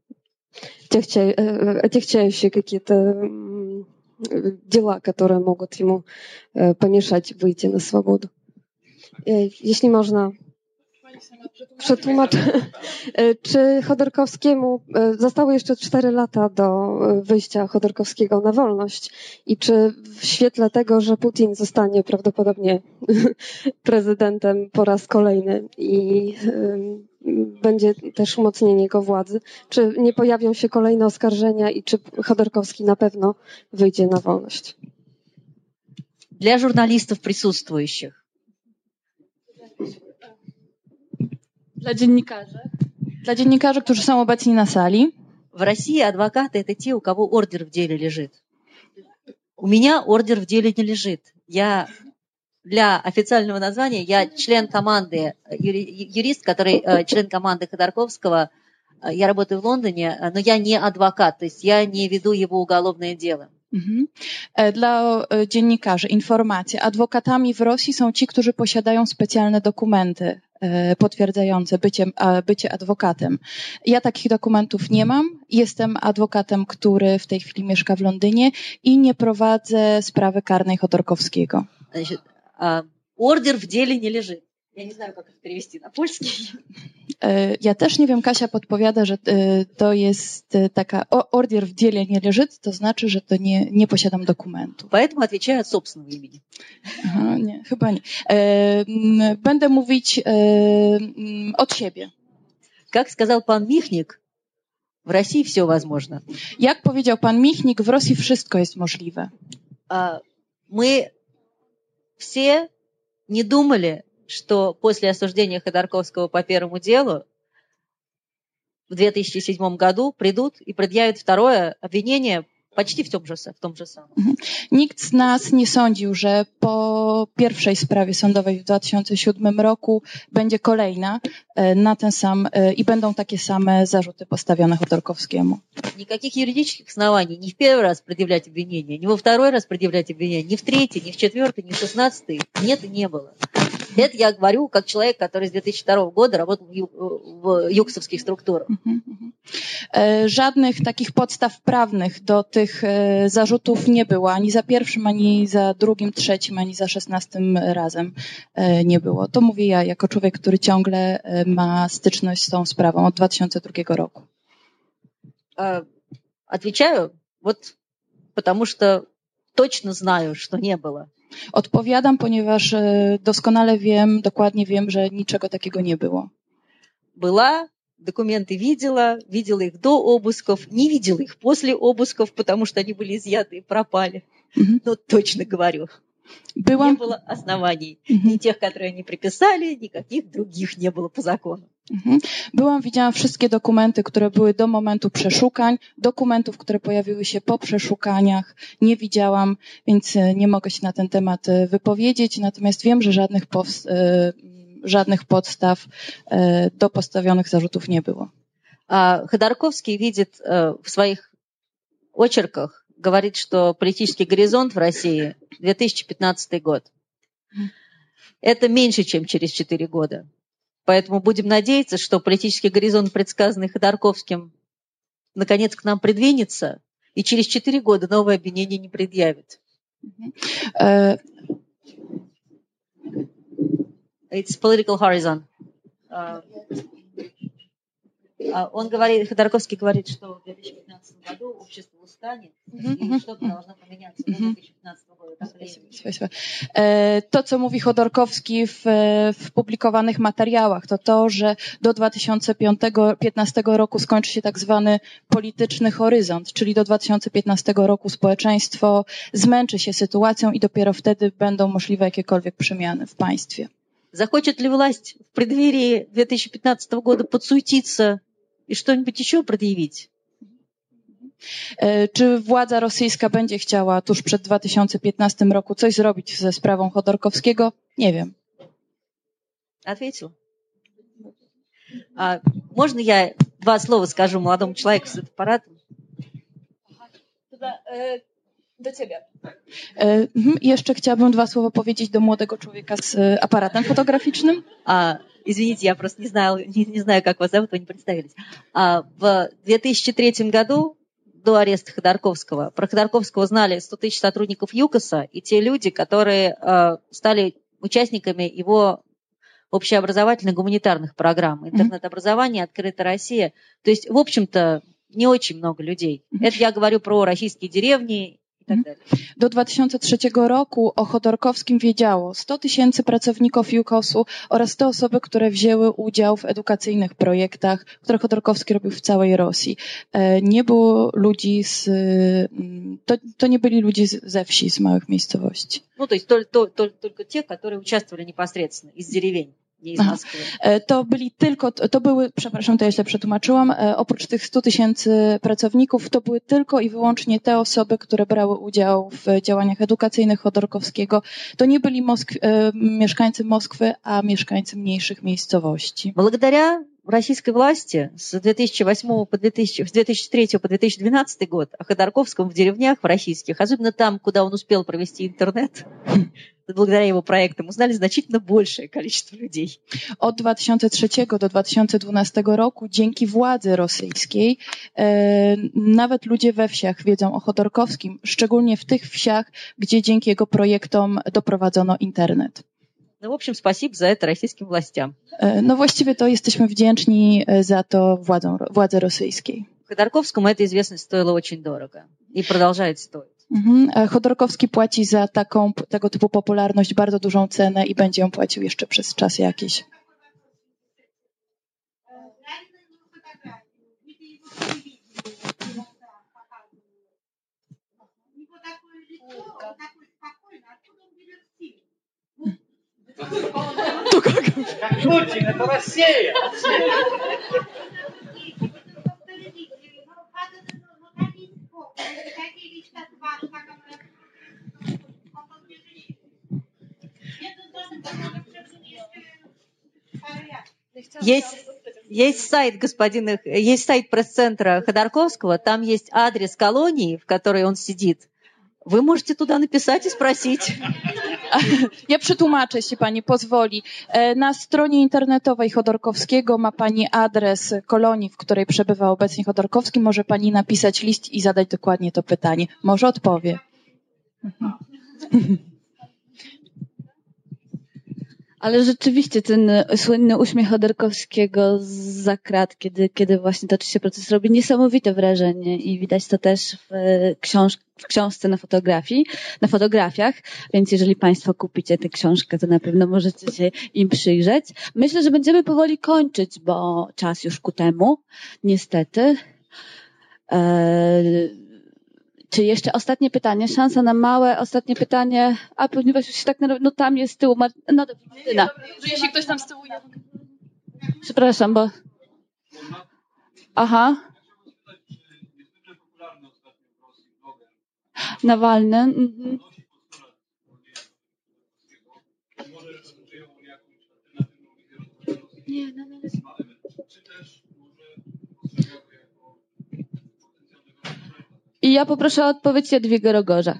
отягчающие какие-то дела, которые могут ему помешать выйти на свободу. Jeśli można przetłumaczyć, czy Chodorkowskiemu zostały jeszcze cztery lata do wyjścia Chodorkowskiego na wolność i czy w świetle tego, że Putin zostanie prawdopodobnie prezydentem po raz kolejny i będzie też umocnienie jego władzy, czy nie pojawią się kolejne oskarżenia i czy Chodorkowski na pewno wyjdzie na wolność? Для журналистов присутствующих. Dla dziennikarzy. Dla dziennikarzy, którzy są obecni na sali. В России адвокаты — это те, у кого ордер в деле лежит. У меня ордер в деле не лежит. Я для официального названия я член команды, юрист, который член команды Ходорковского. Я работаю в Лондоне, но я не адвокат, то есть я не веду его уголовное дело. Mhm. Dla dziennikarzy informacje. Adwokatami w Rosji są ci, którzy posiadają specjalne dokumenty potwierdzające bycie, bycie adwokatem. Ja takich dokumentów nie mam. Jestem adwokatem, który w tej chwili mieszka w Londynie i nie prowadzę sprawy karnej Chodorkowskiego. Ордер в деле не лежит. Я не знаю, как это перевести на польский. Ja też nie wiem, Kasia podpowiada, że to jest taka ордер в деле nie leży, to znaczy, że to nie, nie posiadam dokumentu. Поэтому отвечаю от собственного имени. Aha, nie, chyba nie. Będę mówić od siebie. Как сказал пан Михник, в России все возможно. Jak powiedział pan Michnik, w Rosji wszystko jest możliwe. Мы все не думали, что после осуждения Ходорковского по первому делу в две тысячи седьмом году придут и предъявят второе обвинение почти w tym, w tym же samym. Nikt z nas nie sądził, że po pierwszej sprawie sądowej w dwa tysiące siódmym roku będzie kolejna na ten sam i będą takie same zarzuty postawione Chodorkowskiemu. Никаких юридических оснований ни в первый раз предъявлять обвинение, ни во второй раз предъявлять обвинение, ни в третий, ни в четвертый, ни в шестнадцатый нет и не было. Это я говорю как человек, который с две тысячи второго года работал в, ю, в юксовских структурах. Żadnych takich podstaw prawnych do tych zarzutów nie było. Ani za pierwszym, ani za drugim, trzecim, ani za szesnastym razem nie było. To mówię ja jako człowiek, który ciągle ma styczność z tą sprawą od dwa tysiące drugiego roku. Отвечаю, вот потому что точно знаю, что не было. Odpowiadam, ponieważ doskonale wiem, dokładnie wiem, że niczego takiego nie było. Была, документы видела, видела их до обысков, не видела их после обысков, потому что они были изъяты и пропали. Mm-hmm. Но точно говорю. Byłam... Nie było оснований. Mm-hmm. Ни тех, которые они приписали, никаких других не было по закону. Mhm. Byłam, widziałam wszystkie dokumenty, które były do momentu przeszukań, dokumentów, które pojawiły się po przeszukaniach, nie widziałam, więc nie mogę się na ten temat wypowiedzieć, natomiast wiem, że żadnych, powst- żadnych podstaw do postawionych zarzutów nie było. A Ходорковский видит в своих очерках, говорит, что политический горизонт в России две тысячи пятнадцатый год. Это меньше, чем через четыре года. Поэтому будем надеяться, что политический горизонт, предсказанный Ходорковским, наконец к нам придвинется, и через четыре года новое обвинение не предъявит. Uh, It's political horizon. Uh, uh, он говорит, Ходорковский говорит, что в две тысячи пятнадцатом году общество устанет, mm-hmm. и что-то должно поменяться до две тысячи пятнадцатого года. To, co mówi Chodorkowski w, w publikowanych materiałach, to to, że do dwa tysiące piętnastego roku skończy się tak zwany polityczny horyzont, czyli do dwa tysiące piętnastego roku społeczeństwo zmęczy się sytuacją i dopiero wtedy będą możliwe jakiekolwiek przemiany w państwie. Захочет ли власть в преддверии две тысячи пятнадцатого года подсуетиться и что-нибудь еще предъявить? Czy władza rosyjska będzie chciała tuż przed dwa tysiące piętnastym roku coś zrobić ze sprawą Chodorkowskiego? Nie wiem. Ответил. А можно я два слова скажу молодому человеку с аппаратом? Do ciebie. E, jeszcze chciałabym dwa słowa powiedzieć do młodego człowieka z aparatem fotograficznym. А, извините, я просто не знаю, не, не знаю, как вас зовут, вы не представились. А, в две тысячи третьем году, до ареста Ходорковского, про Ходорковского знали сто тысяч сотрудников ЮКОСа и те люди, которые а, стали участниками его общеобразовательных гуманитарных программ. Интернет-образование, Открытая Россия. То есть, в общем-то, не очень много людей. Это я говорю про российские деревни. Do dwa tysiące trzeciego roku o Chodorkowskim wiedziało sto tysięcy pracowników JUKOS-u oraz te osoby, które wzięły udział w edukacyjnych projektach, które Chodorkowski robił w całej Rosji. Nie było ludzi z... To, to nie byli ludzie ze wsi, z małych miejscowości. No to jest to, to, tylko ci, którzy uczestniczyli bezpośrednio z деревень. To byli tylko, to były, przepraszam, to ja źle przetłumaczyłam, oprócz tych stu tysięcy pracowników, to były tylko i wyłącznie te osoby, które brały udział w działaniach edukacyjnych Chodorkowskiego. To nie byli Moskw, mieszkańcy Moskwy, a mieszkańcy mniejszych miejscowości. Благодаря российской власти с две тысячи восьмого по две тысячи, с две тысячи третьего по две тысячи двенадцатый год о Ходорковском в деревнях, в российских, особенно там, куда он успел провести интернет, благодаря его проектам, узнали значительно большее количество людей. Od dwa tysiące trzeciego do dwa tysiące dwunastego roku dzięki władzy rosyjskiej e, nawet ludzie we wsiach wiedzą o Chodorkowskim, szczególnie w tych wsiach, gdzie dzięki jego projektom doprowadzono internet. No, w общем, спасибо за это российским властям. No właściwie to jesteśmy wdzięczni za to władzom, władzy rosyjskiej. Ходорковскому эта известность стоила очень дорого и продолжает стоить. Mhm. Chodorkowski płaci za taką, tego typu popularność bardzo dużą cenę i będzie ją płacił jeszcze przez czas jakiś. To как? Как Путин, это Россия. Есть, есть сайт господина, есть сайт пресс-центра Ходорковского, там есть адрес колонии, в которой он сидит. Wy możecie tуда napisać i sprosić. Ja przetłumaczę, jeśli pani pozwoli. Na stronie internetowej Chodorkowskiego ma pani adres kolonii, w której przebywa obecnie Chodorkowski. Może pani napisać list i zadać dokładnie to pytanie. Może odpowie. Ale rzeczywiście ten słynny uśmiech Chodorkowskiego za krat, kiedy, kiedy właśnie toczy się proces, robi niesamowite wrażenie i widać to też w, książ w książce na fotografii, na fotografiach, więc jeżeli państwo kupicie tę książkę, to na pewno możecie się im przyjrzeć. Myślę, że będziemy powoli kończyć, bo czas już ku temu, niestety. Eee, Czy jeszcze ostatnie pytanie? Szansa na małe ostatnie pytanie. A ponieważ już się tak, no tam jest z tyłu. Mar no dobrze, Martyna. Jeśli ktoś tam z tyłu. Przepraszam, bo. Aha. Nawalny. Mhm. Nie, no, no. I ja poproszę o odpowiedź Jadwigę Rogorza.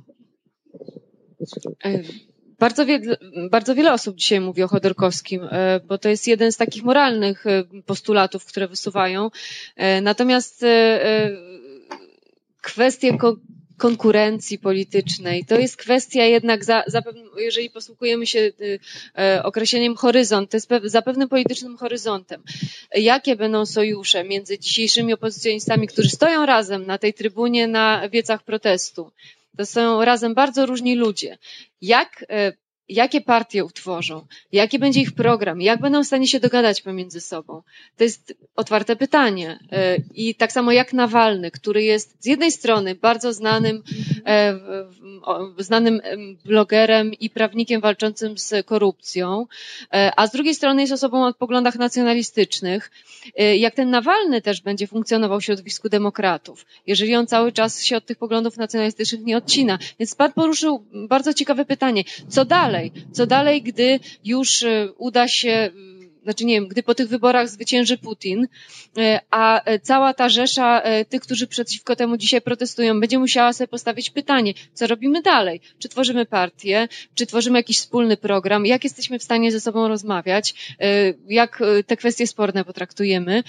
Bardzo, wie, bardzo wiele osób dzisiaj mówi o Chodorkowskim, bo to jest jeden z takich moralnych postulatów, które wysuwają. Natomiast kwestie konkurencji politycznej to jest kwestia jednak, za, za, jeżeli posługujemy się określeniem horyzont, to jest za pewnym politycznym horyzontem. Jakie będą sojusze między dzisiejszymi opozycjonistami, którzy stoją razem na tej trybunie na wiecach protestu? To są razem bardzo różni ludzie. Jak, jakie partie utworzą? Jaki będzie ich program? Jak będą w stanie się dogadać pomiędzy sobą? To jest otwarte pytanie. I tak samo jak Nawalny, który jest z jednej strony bardzo znanym, znanym blogerem i prawnikiem walczącym z korupcją, a z drugiej strony jest osobą o poglądach nacjonalistycznych. Jak ten Nawalny też będzie funkcjonował w środowisku demokratów, jeżeli on cały czas się od tych poglądów nacjonalistycznych nie odcina. Więc pan poruszył bardzo ciekawe pytanie. Co dalej? Co dalej, gdy już uda się, znaczy nie wiem, gdy po tych wyborach zwycięży Putin, a cała ta rzesza tych, którzy przeciwko temu dzisiaj protestują, będzie musiała sobie postawić pytanie, co robimy dalej? Czy tworzymy partię? Czy tworzymy jakiś wspólny program? Jak jesteśmy w stanie ze sobą rozmawiać? Jak te kwestie sporne potraktujemy?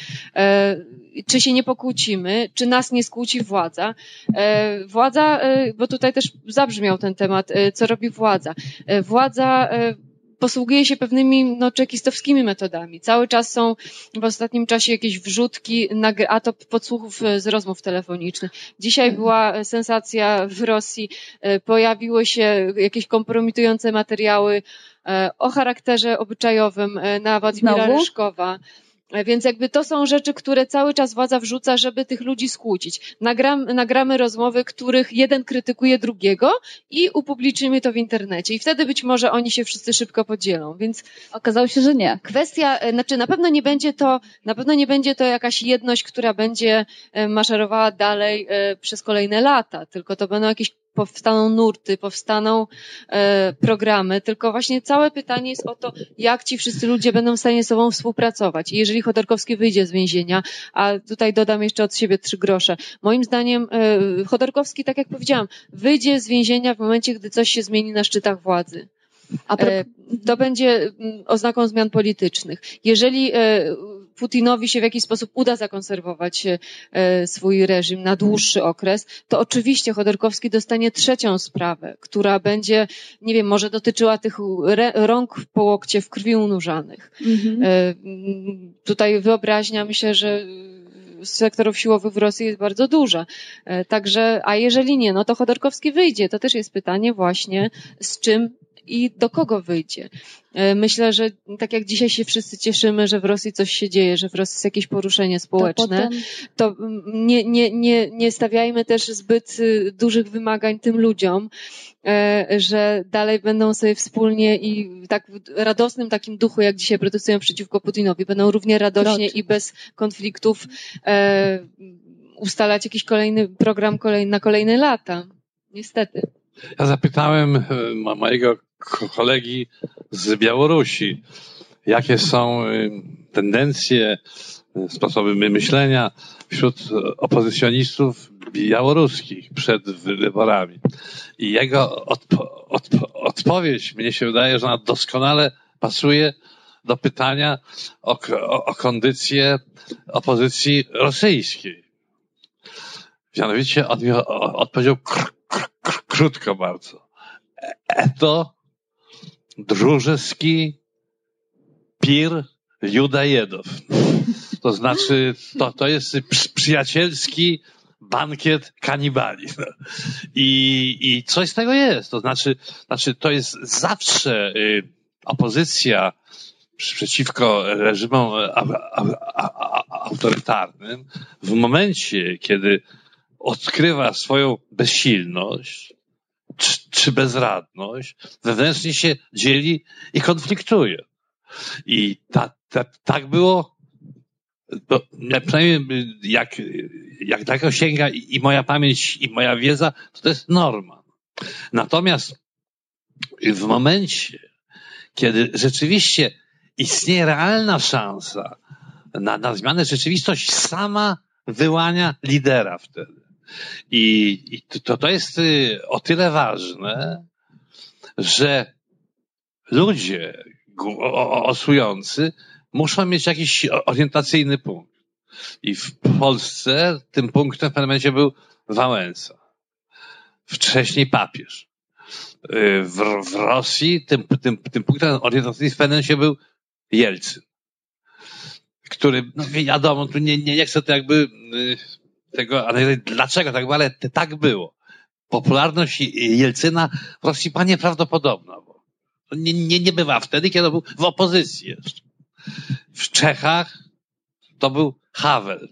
Czy się nie pokłócimy? Czy nas nie skłóci władza? Władza, bo tutaj też zabrzmiał ten temat, co robi władza? Władza posługuje się pewnymi no, czekistowskimi metodami. Cały czas są w ostatnim czasie jakieś wrzutki, a to podsłuchów z rozmów telefonicznych. Dzisiaj była sensacja w Rosji, pojawiły się jakieś kompromitujące materiały o charakterze obyczajowym na Władimira Ryszkowa. Więc jakby to są rzeczy, które cały czas władza wrzuca, żeby tych ludzi skłócić. Nagram, nagramy rozmowy, których jeden krytykuje drugiego i upublicznimy to w internecie. I wtedy być może oni się wszyscy szybko podzielą. Więc okazało się, że nie. Kwestia, znaczy na pewno nie będzie to, na pewno nie będzie to jakaś jedność, która będzie maszerowała dalej przez kolejne lata, tylko to będą jakieś powstaną nurty, powstaną e, programy, tylko właśnie całe pytanie jest o to, jak ci wszyscy ludzie będą w stanie ze sobą współpracować. I jeżeli Chodorkowski wyjdzie z więzienia, a tutaj dodam jeszcze od siebie trzy grosze, moim zdaniem e, Chodorkowski, tak jak powiedziałam, wyjdzie z więzienia w momencie, gdy coś się zmieni na szczytach władzy. A e, to będzie oznaką zmian politycznych. Jeżeli e, Putinowi się w jakiś sposób uda zakonserwować swój reżim na dłuższy okres, to oczywiście Chodorkowski dostanie trzecią sprawę, która będzie, nie wiem, może dotyczyła tych rąk po łokcie w krwi unurzanych. Mhm. Tutaj wyobraźnia, myślę, że sektorów siłowych w Rosji jest bardzo duża. Także, a jeżeli nie, no to Chodorkowski wyjdzie. To też jest pytanie właśnie, z czym i do kogo wyjdzie. Myślę, że tak jak dzisiaj się wszyscy cieszymy, że w Rosji coś się dzieje, że w Rosji jest jakieś poruszenie społeczne, to, potem... to nie, nie, nie, nie stawiajmy też zbyt dużych wymagań tym ludziom, że dalej będą sobie wspólnie i tak w radosnym takim duchu, jak dzisiaj protestują przeciwko Putinowi, będą równie radośnie i bez konfliktów e, ustalać jakiś kolejny program kolej, na kolejne lata. Niestety. Ja zapytałem mojego kolegi z Białorusi, jakie są tendencje, sposoby myślenia wśród opozycjonistów białoruskich przed wyborami. I jego odpo- odpo- odpowiedź, mnie się wydaje, że ona doskonale pasuje do pytania o, o, o kondycję opozycji rosyjskiej. Mianowicie on mi odpowiedział kr- kr- kr- krótko bardzo. Eto drużyski pir Judajedow. To znaczy, to, to jest przyjacielski bankiet kanibali. I, i coś z tego jest. To znaczy, znaczy to jest zawsze y, opozycja przeciwko reżimom a, a, a, a, autorytarnym w momencie, kiedy odkrywa swoją bezsilność czy, czy bezradność, wewnętrznie się dzieli i konfliktuje. I ta, ta, tak było, to przynajmniej jak, jak daleko sięga i, i moja pamięć, i moja wiedza, to, to jest norma. Natomiast w momencie, kiedy rzeczywiście istnieje realna szansa na, na zmianę, rzeczywistość sama wyłania lidera wtedy. I, i to, to jest o tyle ważne, że ludzie głosujący muszą mieć jakiś orientacyjny punkt. I w Polsce tym punktem w pewnym momencie był Wałęsa. Wcześniej papież. W, w Rosji tym, tym, tym punktem orientacyjnym w pewnym momencie był Jelcyn. Który, no wiadomo, tu nie, nie, nie chcę to jakby tego, ale dlaczego tak było, ale tak było. Popularność Jelcyna w Rosji była nieprawdopodobna. Bo nie, nie, nie bywa wtedy, kiedy był w opozycji jeszcze. W Czechach to był Havel.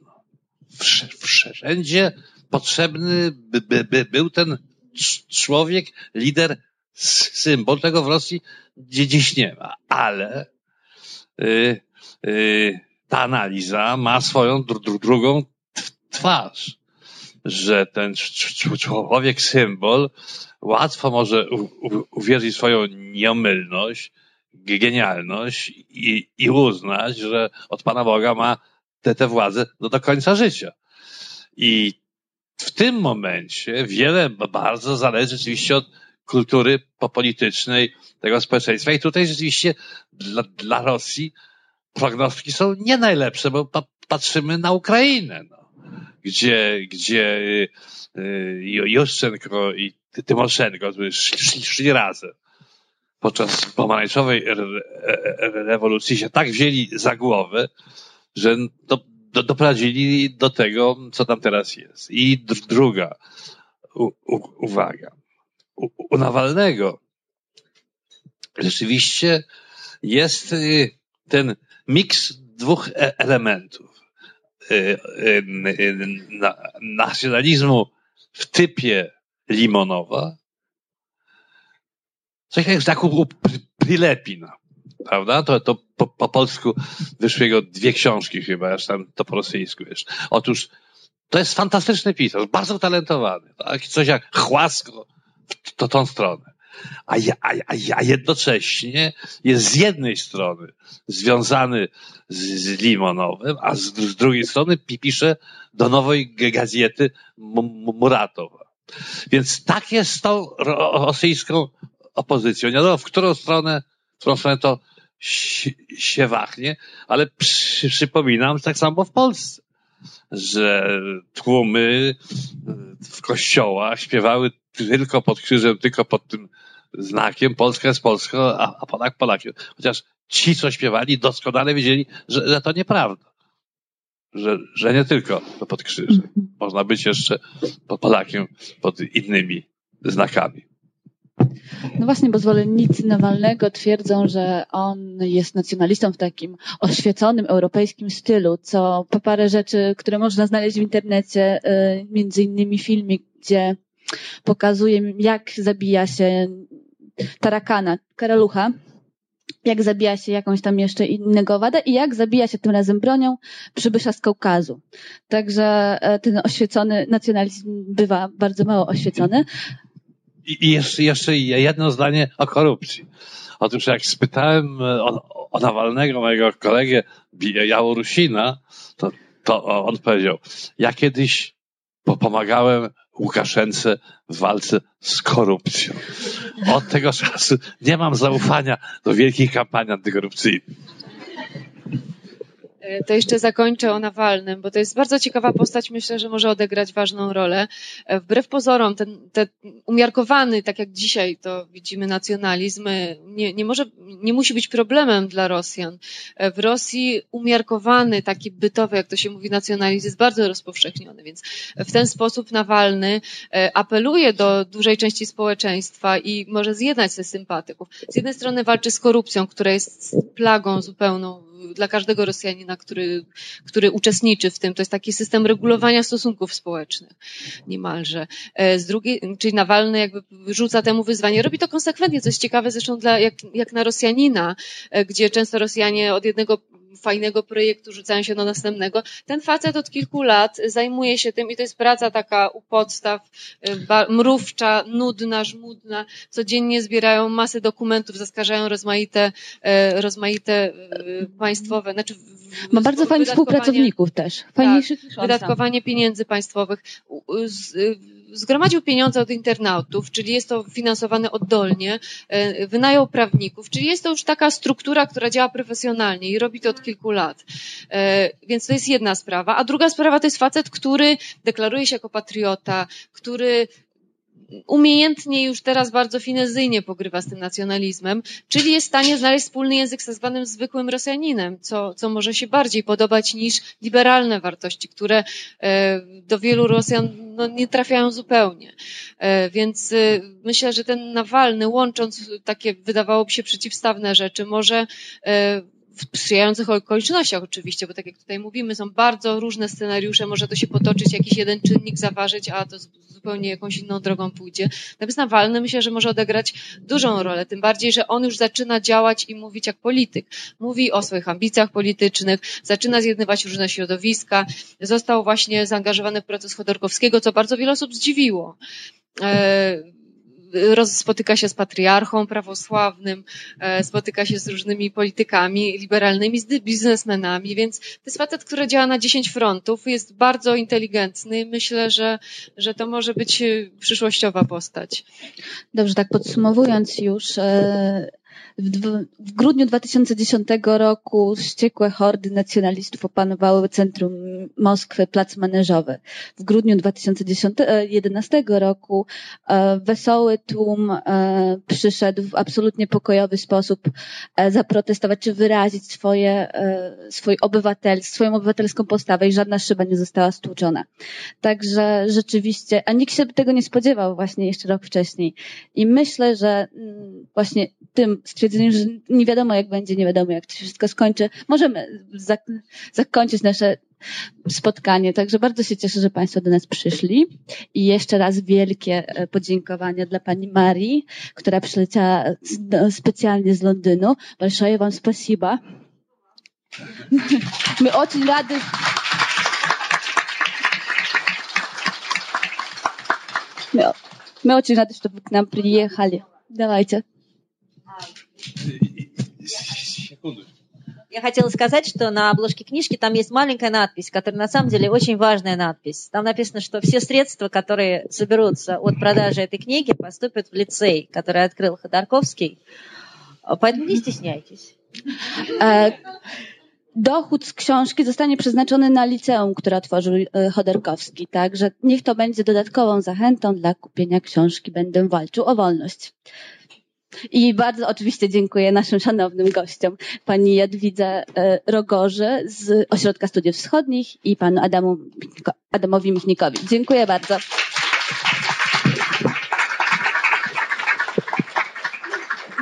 Wszędzie potrzebny by, by, by był ten człowiek, lider, symbol. Tego w Rosji dziś nie ma. Ale yy, yy, ta analiza ma swoją dru, drugą twarz, że ten człowiek symbol łatwo może u, u, uwierzyć w swoją nieomylność, genialność i, i uznać, że od Pana Boga ma tę, tę władzę do, do końca życia. I w tym momencie wiele bardzo zależy rzeczywiście od kultury politycznej tego społeczeństwa. I tutaj rzeczywiście dla, dla Rosji prognostyki są nie najlepsze, bo pa, patrzymy na Ukrainę, no, gdzie, gdzie Juszczenko i Tymoszenko szli, szli razem. Podczas pomarańczowej rewolucji się tak wzięli za głowę, że do, do, doprowadzili do tego, co tam teraz jest. I druga u, u, uwaga. U, u Nawalnego rzeczywiście jest ten miks dwóch elementów. Nacjonalizmu w typie Limonowa, coś jak znaku Prilepina, prawda? To, to po, po polsku wyszły jego dwie książki chyba, aż tam to po rosyjsku wiesz. Otóż to jest fantastyczny pisarz, bardzo talentowany, tak? Coś jak Chłasko w to, tą stronę. A, a, a jednocześnie jest z jednej strony związany z, z Limonowem, a z, z drugiej strony pisze do nowej gazety Muratowa. Więc tak jest z tą rosyjską opozycją. Nie wiadomo, w którą stronę, w którą stronę to się wahnie, ale przy, przypominam, tak samo w Polsce, że tłumy w kościołach śpiewały tylko pod krzyżem, tylko pod tym znakiem Polska jest Polską, a, a Polak Polakiem. Chociaż ci, co śpiewali, doskonale wiedzieli, że, że to nieprawda. Że, że nie tylko pod krzyżem. Można być jeszcze pod Polakiem pod innymi znakami. No właśnie, bo zwolennicy Nawalnego twierdzą, że on jest nacjonalistą w takim oświeconym europejskim stylu, co po parę rzeczy, które można znaleźć w internecie, między innymi filmik, gdzie pokazuje, jak zabija się tarakana, karalucha, jak zabija się jakąś tam jeszcze innego owada i jak zabija się tym razem bronią przybysza z Kaukazu. Także ten oświecony nacjonalizm bywa bardzo mało oświecony. I jeszcze, jeszcze jedno zdanie o korupcji. Otóż jak spytałem o, o Nawalnego, mojego kolegę Białorusina, to, to on powiedział, ja kiedyś pomagałem Łukaszence w walce z korupcją. Od tego czasu nie mam zaufania do wielkich kampanii antykorupcyjnych. To jeszcze zakończę o Nawalnym, bo to jest bardzo ciekawa postać, myślę, że może odegrać ważną rolę. Wbrew pozorom, ten, ten umiarkowany, tak jak dzisiaj to widzimy, nacjonalizm nie, nie może, nie musi być problemem dla Rosjan. W Rosji umiarkowany, taki bytowy, jak to się mówi, nacjonalizm jest bardzo rozpowszechniony, więc w ten sposób Nawalny apeluje do dużej części społeczeństwa i może zjednać ze sympatyków. Z jednej strony walczy z korupcją, która jest plagą zupełną dla każdego Rosjanina, który, który uczestniczy w tym. To jest taki system regulowania stosunków społecznych niemalże. Z drugiej, czyli Nawalny jakby rzuca temu wyzwanie. Robi to konsekwentnie, co jest ciekawe zresztą dla, jak, jak na Rosjanina, gdzie często Rosjanie od jednego fajnego projektu rzucają się do następnego. Ten facet od kilku lat zajmuje się tym i to jest praca taka u podstaw, mrówcza, nudna, żmudna. Codziennie zbierają masę dokumentów, zaskarżają rozmaite, rozmaite państwowe, znaczy ma bardzo fajnych współpracowników też. Fajniejszych niż on sam. Wydatkowanie pieniędzy państwowych. Zgromadził pieniądze od internautów, czyli jest to finansowane oddolnie, wynajął prawników, czyli jest to już taka struktura, która działa profesjonalnie i robi to od kilku lat. Więc to jest jedna sprawa. A druga sprawa to jest facet, który deklaruje się jako patriota, który umiejętnie już teraz bardzo finezyjnie pogrywa z tym nacjonalizmem, czyli jest w stanie znaleźć wspólny język z tak zwanym zwykłym Rosjaninem, co, co może się bardziej podobać niż liberalne wartości, które do wielu Rosjan no, nie trafiają zupełnie. Więc myślę, że ten Nawalny, łącząc takie wydawałoby się przeciwstawne rzeczy, może w sprzyjających okolicznościach oczywiście, bo tak jak tutaj mówimy, są bardzo różne scenariusze, może to się potoczyć, jakiś jeden czynnik zaważyć, a to zupełnie jakąś inną drogą pójdzie. Natomiast Nawalny myślę, że może odegrać dużą rolę, tym bardziej, że on już zaczyna działać i mówić jak polityk. Mówi o swoich ambicjach politycznych, zaczyna zjednywać różne środowiska, został właśnie zaangażowany w proces Chodorkowskiego, co bardzo wiele osób zdziwiło. Spotyka się z patriarchą prawosławnym, spotyka się z różnymi politykami liberalnymi, z biznesmenami, więc to jest facet, który działa na dziesięć frontów, jest bardzo inteligentny. Myślę, że, że to może być przyszłościowa postać. Dobrze, tak podsumowując już, w, w grudniu dwa tysiące dziesiątego roku wściekłe hordy nacjonalistów opanowały centrum Moskwy, plac Maneżowy. W grudniu dwa tysiące jedenastego roku e, wesoły tłum e, przyszedł w absolutnie pokojowy sposób e, zaprotestować czy wyrazić swoje, e, swój obywatel, swoją obywatelską postawę i żadna szyba nie została stłuczona. Także rzeczywiście, a nikt się tego nie spodziewał właśnie jeszcze rok wcześniej. I myślę, że m, właśnie tym stwierdzeniem, że nie wiadomo jak będzie, nie wiadomo jak to się wszystko skończy, możemy zak- zakończyć nasze spotkanie. Także bardzo się cieszę, że Państwo do nas przyszli i jeszcze raz wielkie podziękowania dla Pani Marii, która przyleciała specjalnie z Londynu. Большое вам спасибо. My очень rady. My, my очень рады, что вы к нам приехали. Давайте. Я хотела сказать, что на обложке книжки там есть маленькая надпись, которая на самом деле очень важная надпись. Там написано, что все средства, которые соберутся от продажи этой книги, поступят в лицей, который открыл Ходорковский. Поэтому не стесняйтесь. Dochód z książki zostanie przeznaczony na liceum, które otworzył Chodorkowski. Także niech to będzie dodatkową zachętą dla kupienia książki Będę walczył o wolność. I bardzo oczywiście dziękuję naszym szanownym gościom, pani Jadwidze Rogorzy z Ośrodka Studiów Wschodnich i panu Adamu, Adamowi Michnikowi. Dziękuję bardzo.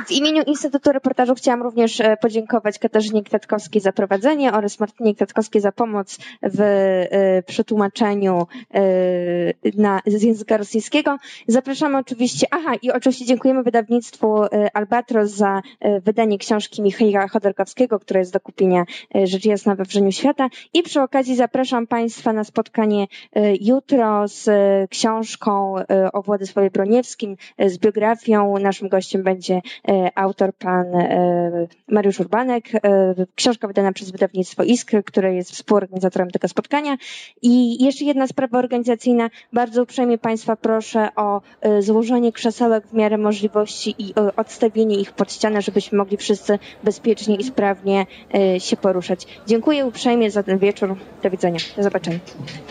W imieniu Instytutu Reportażu chciałam również podziękować Katarzynie Kwiatkowskiej za prowadzenie oraz Martynie Kwiatkowskiej za pomoc w przetłumaczeniu na, z języka rosyjskiego. Zapraszamy oczywiście, aha i oczywiście dziękujemy wydawnictwu Albatros za wydanie książki Michaila Chodorkowskiego, która jest do kupienia rzecz jasna we Wrzeniu Świata. I przy okazji zapraszam Państwa na spotkanie jutro z książką o Władysławie Broniewskim, z biografią. Naszym gościem będzie autor pan Mariusz Urbanek. Książka wydana przez wydawnictwo Iskry, które jest współorganizatorem tego spotkania. I jeszcze jedna sprawa organizacyjna. Bardzo uprzejmie Państwa proszę o złożenie krzesełek w miarę możliwości i odstawienie ich pod ścianę, żebyśmy mogli wszyscy bezpiecznie i sprawnie się poruszać. Dziękuję uprzejmie za ten wieczór. Do widzenia. Do zobaczenia.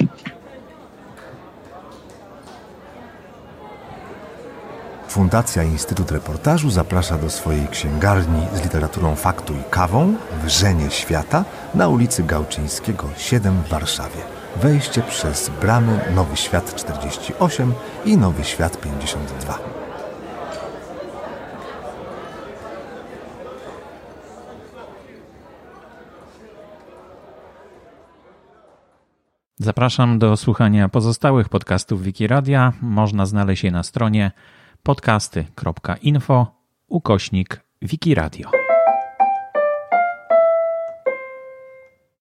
Fundacja Instytut Reportażu zaprasza do swojej księgarni z literaturą faktu i kawą Wrzenie Świata na ulicy Gałczyńskiego siedem w Warszawie. Wejście przez bramy Nowy Świat czterdzieści osiem i Nowy Świat pięćdziesiąt dwa. Zapraszam do słuchania pozostałych podcastów Wikiradia. Można znaleźć je na stronie podcasty kropka info ukośnik Wikiradio.